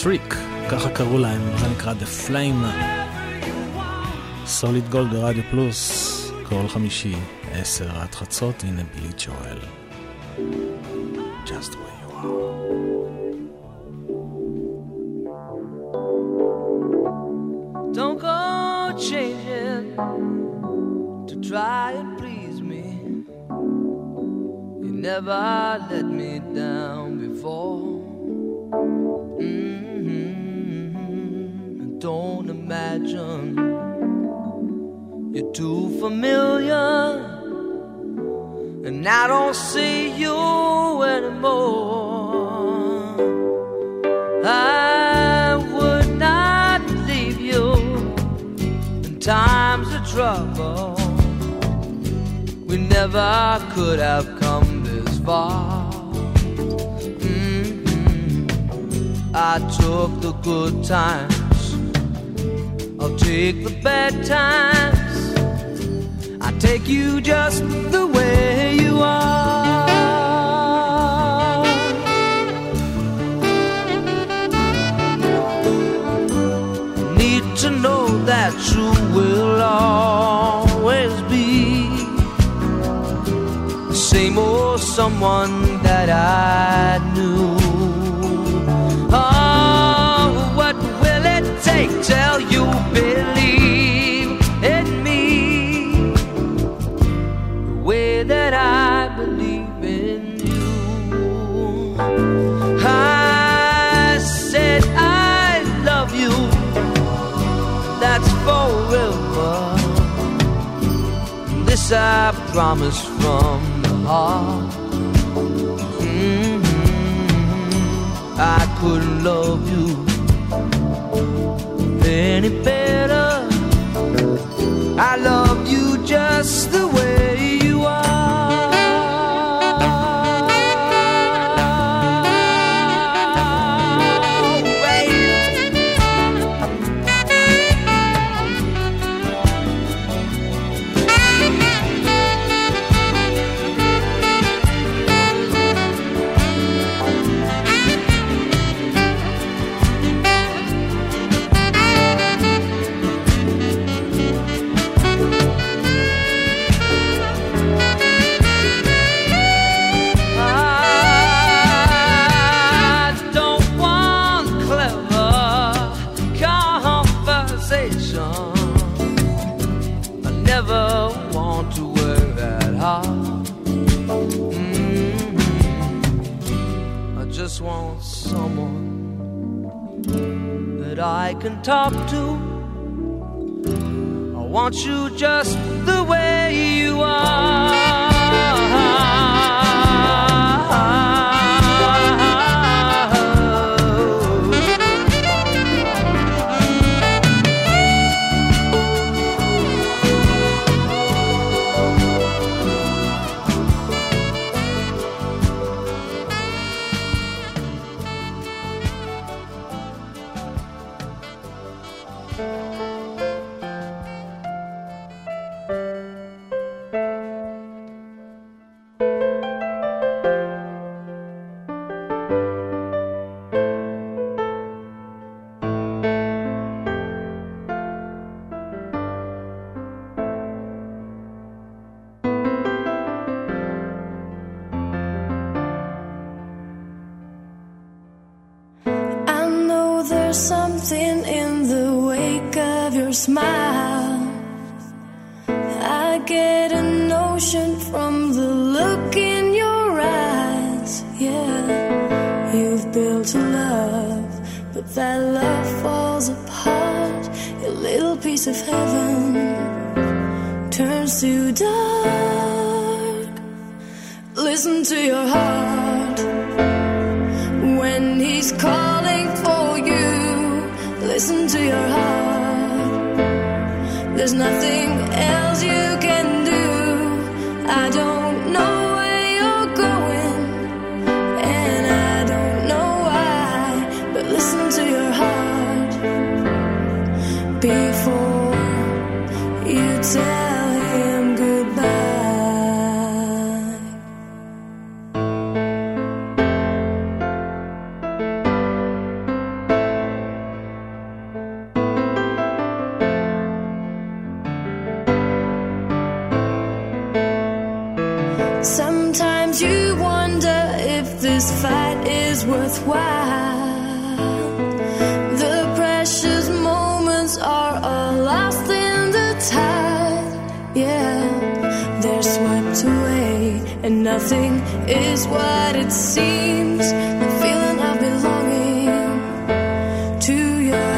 Freak, ככה קראו להם, זה נקרא The Flame. סוליד גולד ברדיו פלוס, כל חמישי 10 עד חצות, הנה בילי ג'ואל. Just the way you are. Don't go changing to try and please me. You never let me down before. Don't imagine you're too familiar, and I don't see you anymore. I would not leave you in times of trouble. We never could have come this far. I took the good times, I'll take the bad times. I take you just the way you are. Need to know that you will always be the same old someone that I knew. Oh, what will it take till you believe in me the way that I believe in you? I said I love you, that's forever. This I promise from the heart. I couldn't love you any better. I love you just the way you are. Want someone that I can talk to. I want you just the way you are. Something in the wake of your smile. I get a notion from the look in your eyes. Yeah, you've built a love, but that love falls apart. Your little piece of heaven turns to dark. Listen to your heart when he's calling for you. Listen to your heart. There's nothing else you can do. I don't know where you're going, and I don't know why, but listen to your heart before you tell him goodbye. Sometimes you wonder if this fight is worthwhile. The precious moments are all lost in the tide. Yeah, they're swept away, and nothing is what it seems. The feeling of belonging to your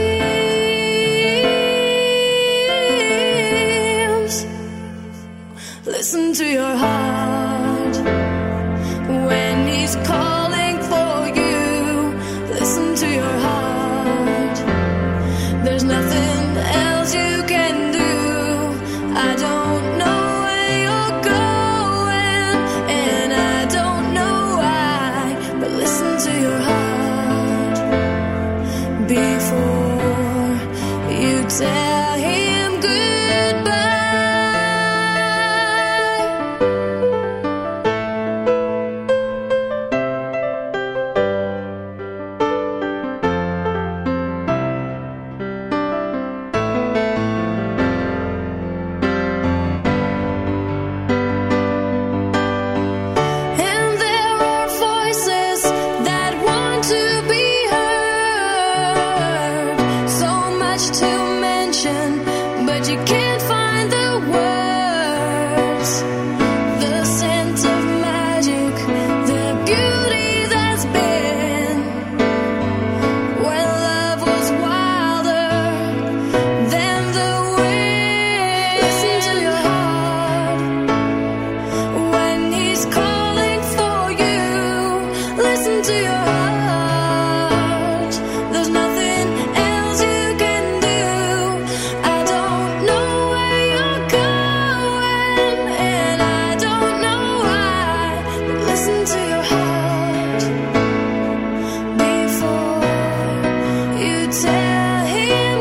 dreams. Listen to your heart when he's calling for you. Listen to your heart. There's nothing else you can do. I don't know where you're going, and I don't know why, but listen to your heart before you tell him goodbye. And there are voices that want to be heard. So much to mention, but you can't find the words. The scent of magic, the beauty that's been when love was wilder than the wind. Listen to your heart when he's calling for you. Listen to your heart. There's nothing else you can do. I don't know where you're going, and I don't know why, but listen to your heart before you tell him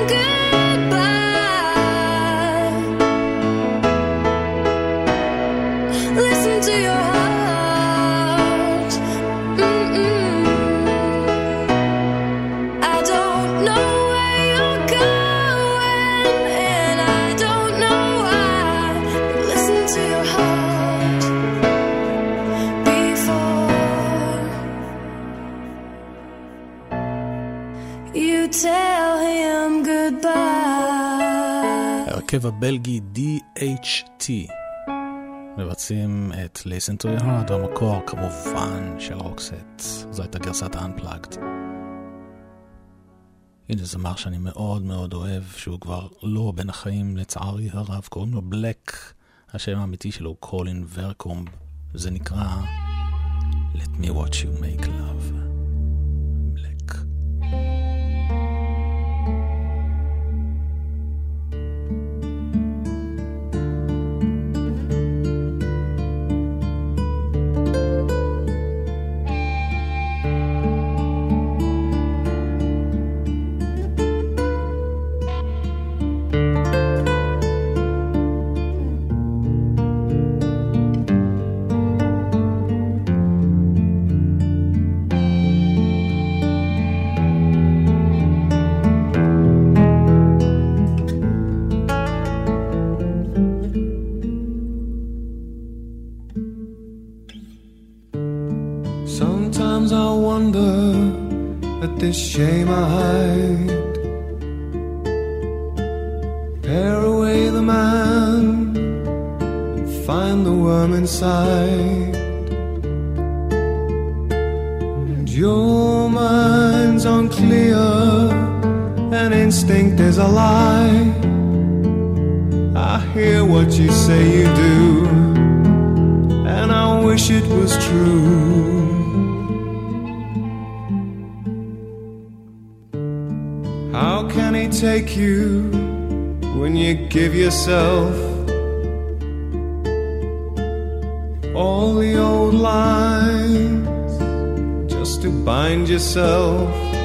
goodbye. Listen to your heart. I don't know where you're going, and I don't know why, but listen to your heart before you tell him goodbye. הרכב הבלגי DHT מבצעים את Listen to your heart, המקור כמובן של רוקסט. זו הייתה גרסת ה-Unplugged. הנה זמר שאני מאוד מאוד אוהב, שהוא כבר לא בין החיים לצערי הרב, קוראים לו בלק, השם האמיתי שלו הוא קולין ורקומב, זה נקרא Let me watch you make love. בלק. Sometimes I wonder at this shame I hide. Tear away the man and find the worm inside. And your mind's unclear, and instinct is a lie. I hear what you say you do, and I wish it was true. How can he take you when you give yourself all the old lines just to bind yourself?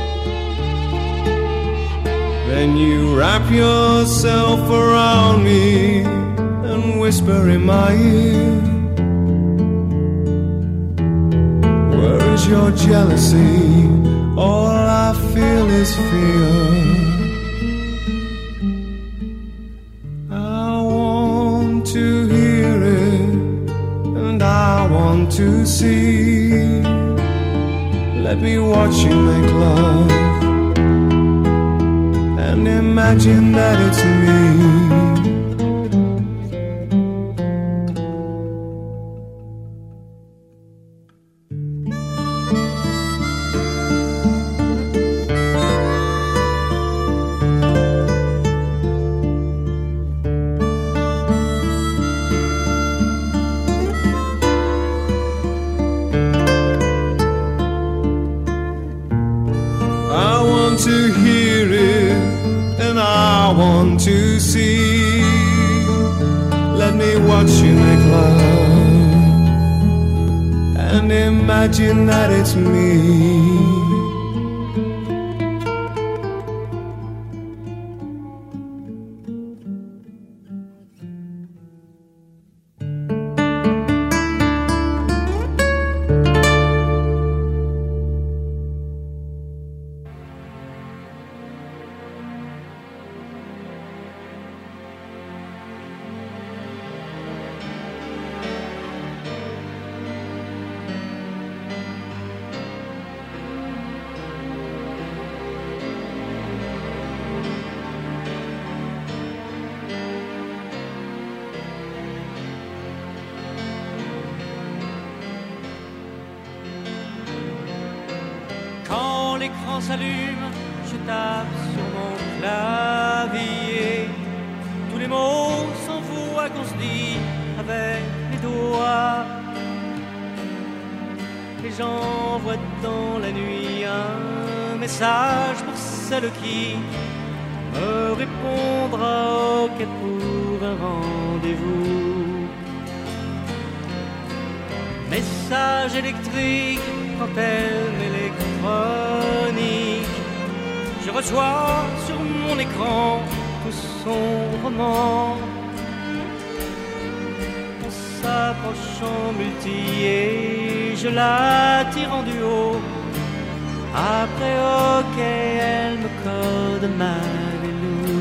Then you wrap yourself around me and whisper in my ear, where is your jealousy? All I feel is fear. I want to hear it, and I want to see. Let me watch you make love and imagine that it's me. To hear it and I want to see. Let me watch you make love and imagine that it's me. L'écran s'allume, je tape sur mon clavier. Tous les mots s'envoient qu'on se dit avec les doigts. Et j'envoie dans la nuit un message pour celle qui me répondra ok pour un rendez-vous. Message électrique, antenne électronique. Je reçois sur mon écran tout son roman. On s'approche en multi et je la tire en duo. Après ok, elle me code Marilou.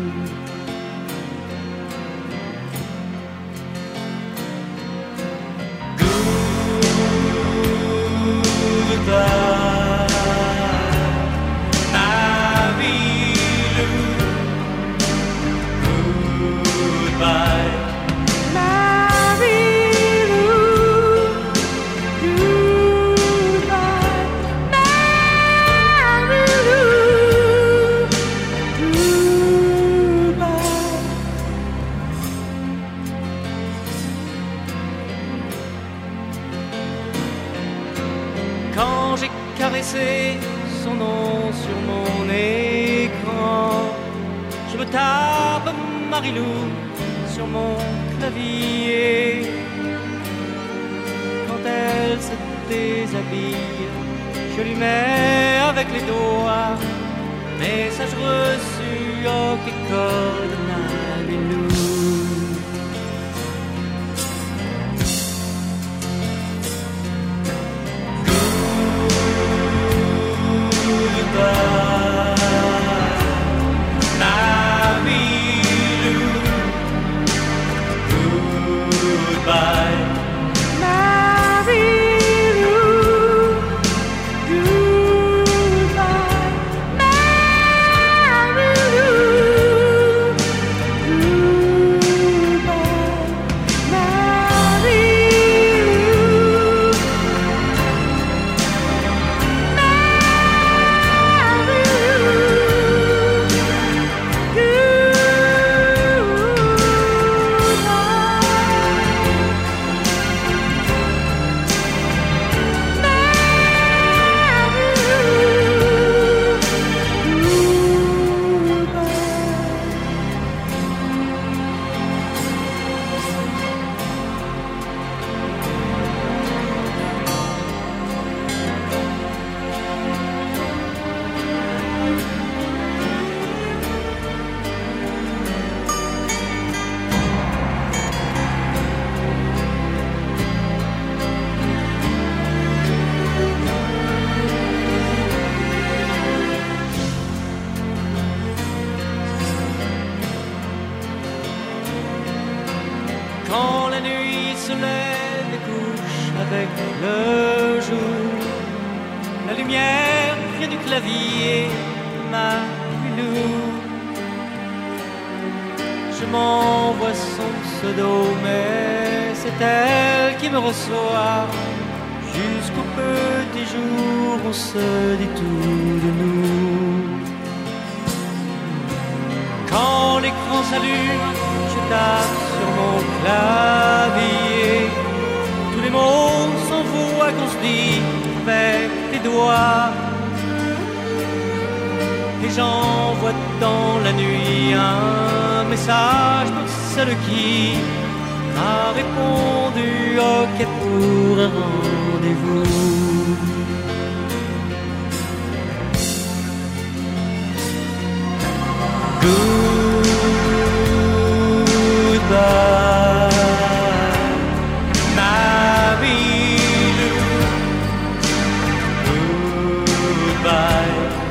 Quand j'ai caressé son nom sur mon écran, je me tape Marilou sur mon clavier. Quand elle se déshabille, je lui mets avec les doigts message reçu, ok, code Marilou. avec le jour. La lumière vient du clavier de ma Lilou. Je m'envoie son pseudo, mais c'est elle qui me reçoit. Jusqu'au petit jour, on se dit tout de nous. Quand l'écran s'allume, je tape sur mon clavier. Tous les mots s'envoient qu'on se dit avec les doigts. Et j'envoie dans la nuit un message pour celle qui m'a répondu OK pour un rendez-vous. Goodbye, ma Lilou. Goodbye.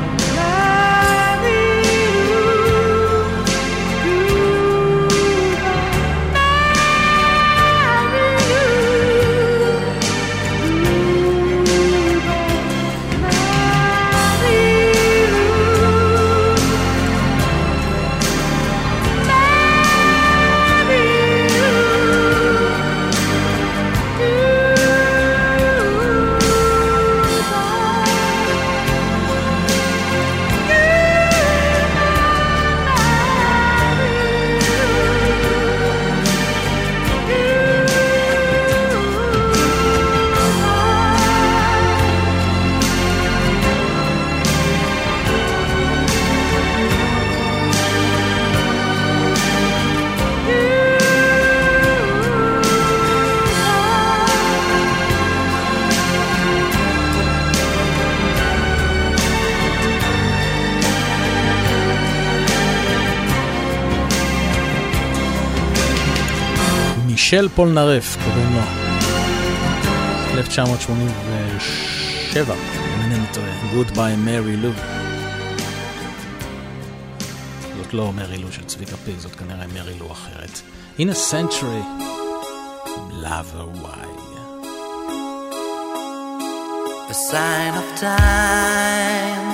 מישל פולנרף קוראים לו, 1987, אם אינני טועה, Goodbye Mary Lou. זאת לא מרי לו של צביקה פיק, זאת כנראה מרי לו אחרת. In a Century, Lover Why. A sign of time.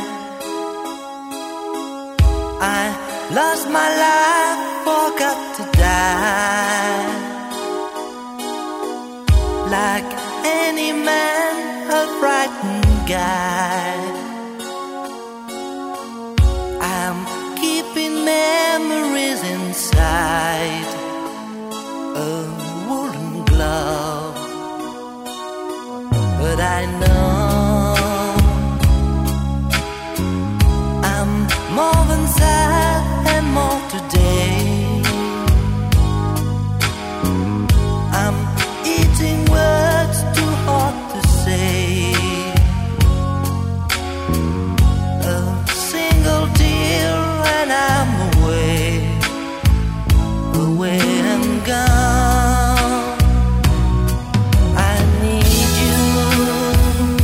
I lost my life, forgot to die. Like any man, a frightened guy. I'm keeping memories inside a woolen glove. But I know I'm more than sad and more today. I'm eating words too hard to say. A single tear and I'm away, away and gone. I need you.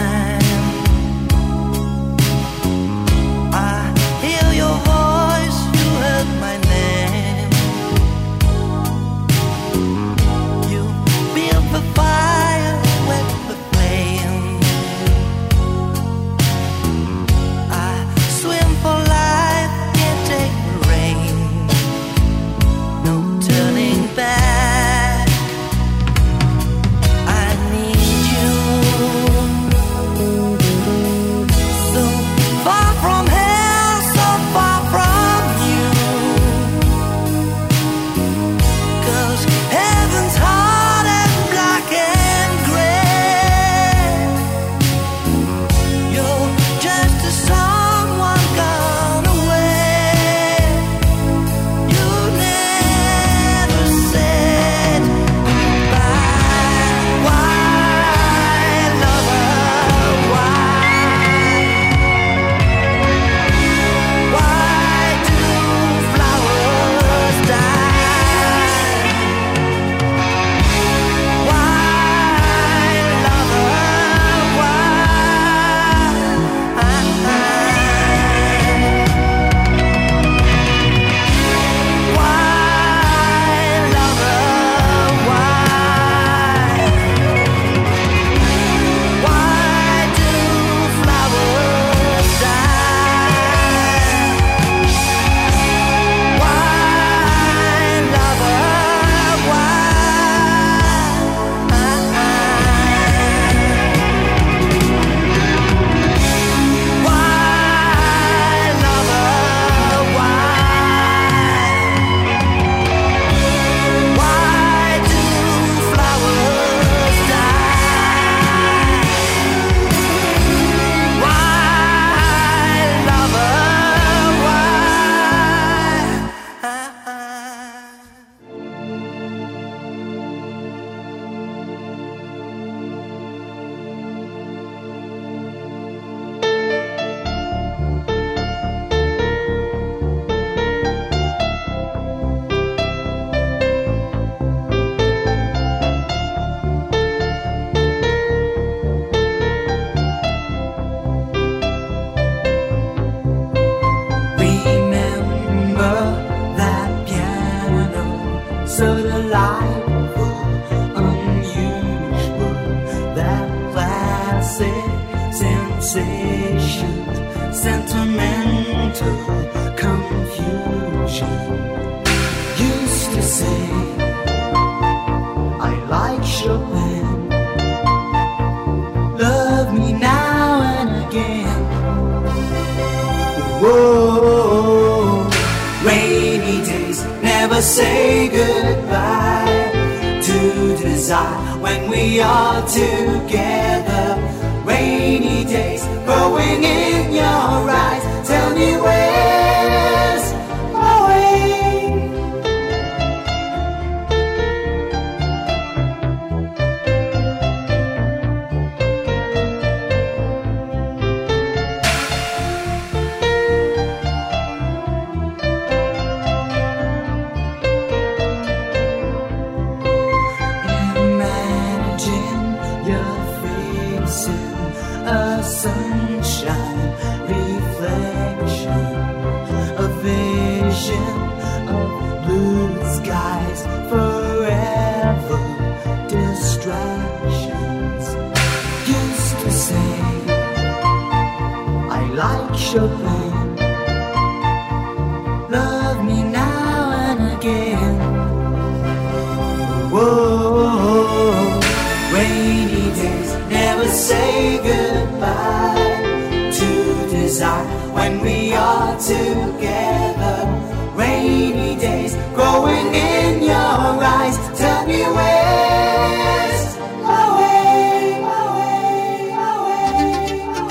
I hear your voice, you heard my name. You build the fire with the flame. I swim for life, can't take the rain. No turning back. I need you. So far from hell, so far from you. 'Cause heaven's hard and black and gray. You're just a someone gone away. You never said goodbye. Why, lover, why? Why do flowers die? Why, lover, why? Why, lover, why? Why do flowers die? Why, lover, why? Why, lover, why? Why do flowers die? Why, lover, remember that piano, so delightful, unusual, that classic sensation, sentimental confusion. Used to say I like Chopin, love me now and again. Whoa, rainy days never say goodbye to desire when we are together. Rainy days growing in your eyes, tell me where's my way. Imagine your face in a sunshine reflection, a vision of blue skies, forever distractions. Used to say I like Chopin, love me now and again. Whoa, rainy days never say goodbye to desire when we are together. Rainy days growing in your eyes, tell me where's my way, my way, my way, my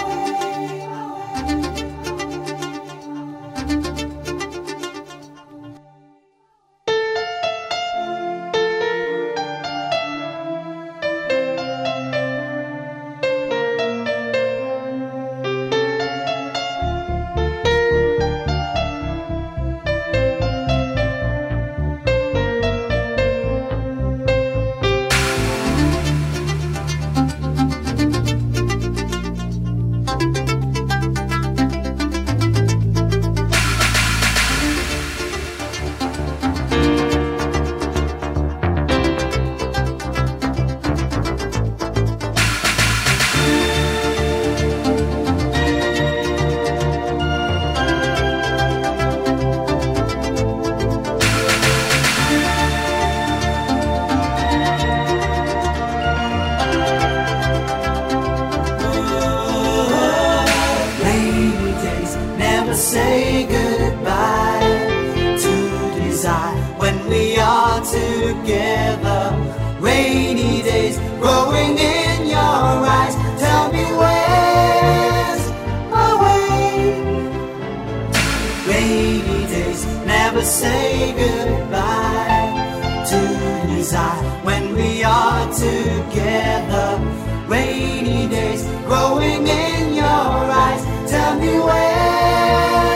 to say goodbye to desire when we are together. Rainy days growing in your eyes. Tell me where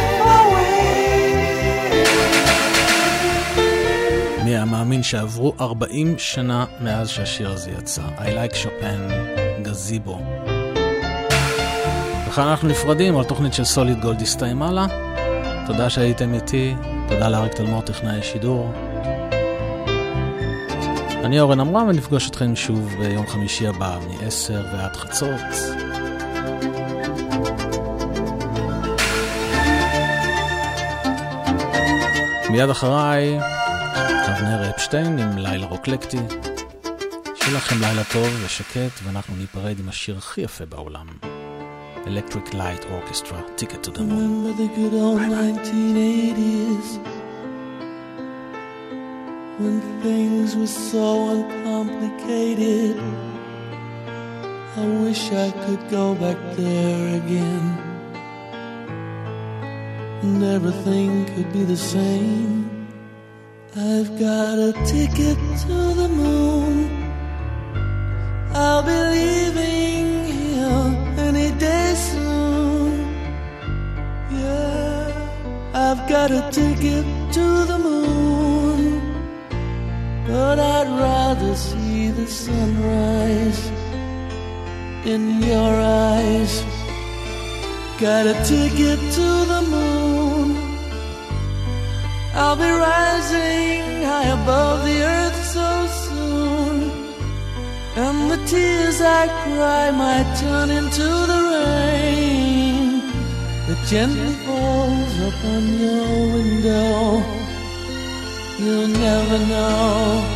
away. מי המאמין שעברו 40 שנה מאז שהשיר הזה יצא. I like Chopin, גזיבו. וכאן אנחנו נפרדים, על תוכנית של סוליד גולד הסתיימה לה. תודה שהייתם איתי, תודה לאריק תלמור טכנאי השידור. אני אורן עמרם ונפגוש אתכם שוב ביום חמישי הבא מ-10 ועד חצות. מיד אחריי אבנר אפשטיין עם לילה רוקלקטי. שיהיה לכם לילה טוב ושקט, ואנחנו ניפרד עם השיר הכי יפה בעולם, Electric Light Orchestra, Ticket to the Moon. Remember the good old 1980s, when things were so uncomplicated. I wish I could go back there again, and everything could be the same. I've got a ticket to the moon. I'll be leaving here any day soon. Yeah, I've got a ticket to the moon, but I'd rather see the sunrise in your eyes. Got a ticket to the moon. I'll be rising high above the earth so soon, and the tears I cry might turn into the rain that gently falls upon your window. You'll never know.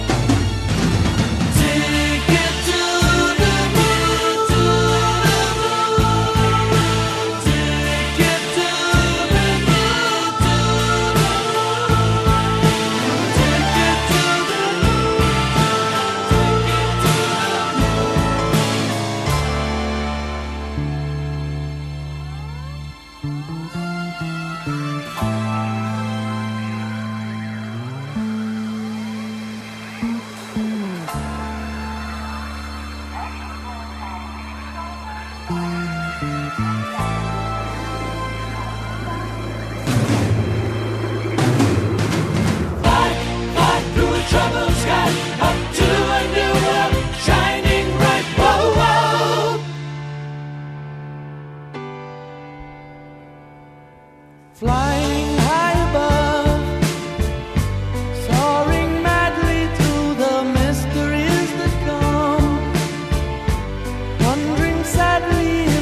Ticket to the moon, to the moon. Ticket to the moon, to the moon. Ticket to the moon, ticket to troubled sky, up to a new world, shining bright. Whoa, whoa. Flying high above, soaring madly through the mysteries that come, wondering sadly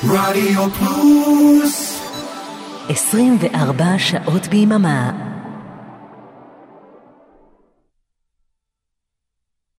רדיו פלוס 24 שעות ביממה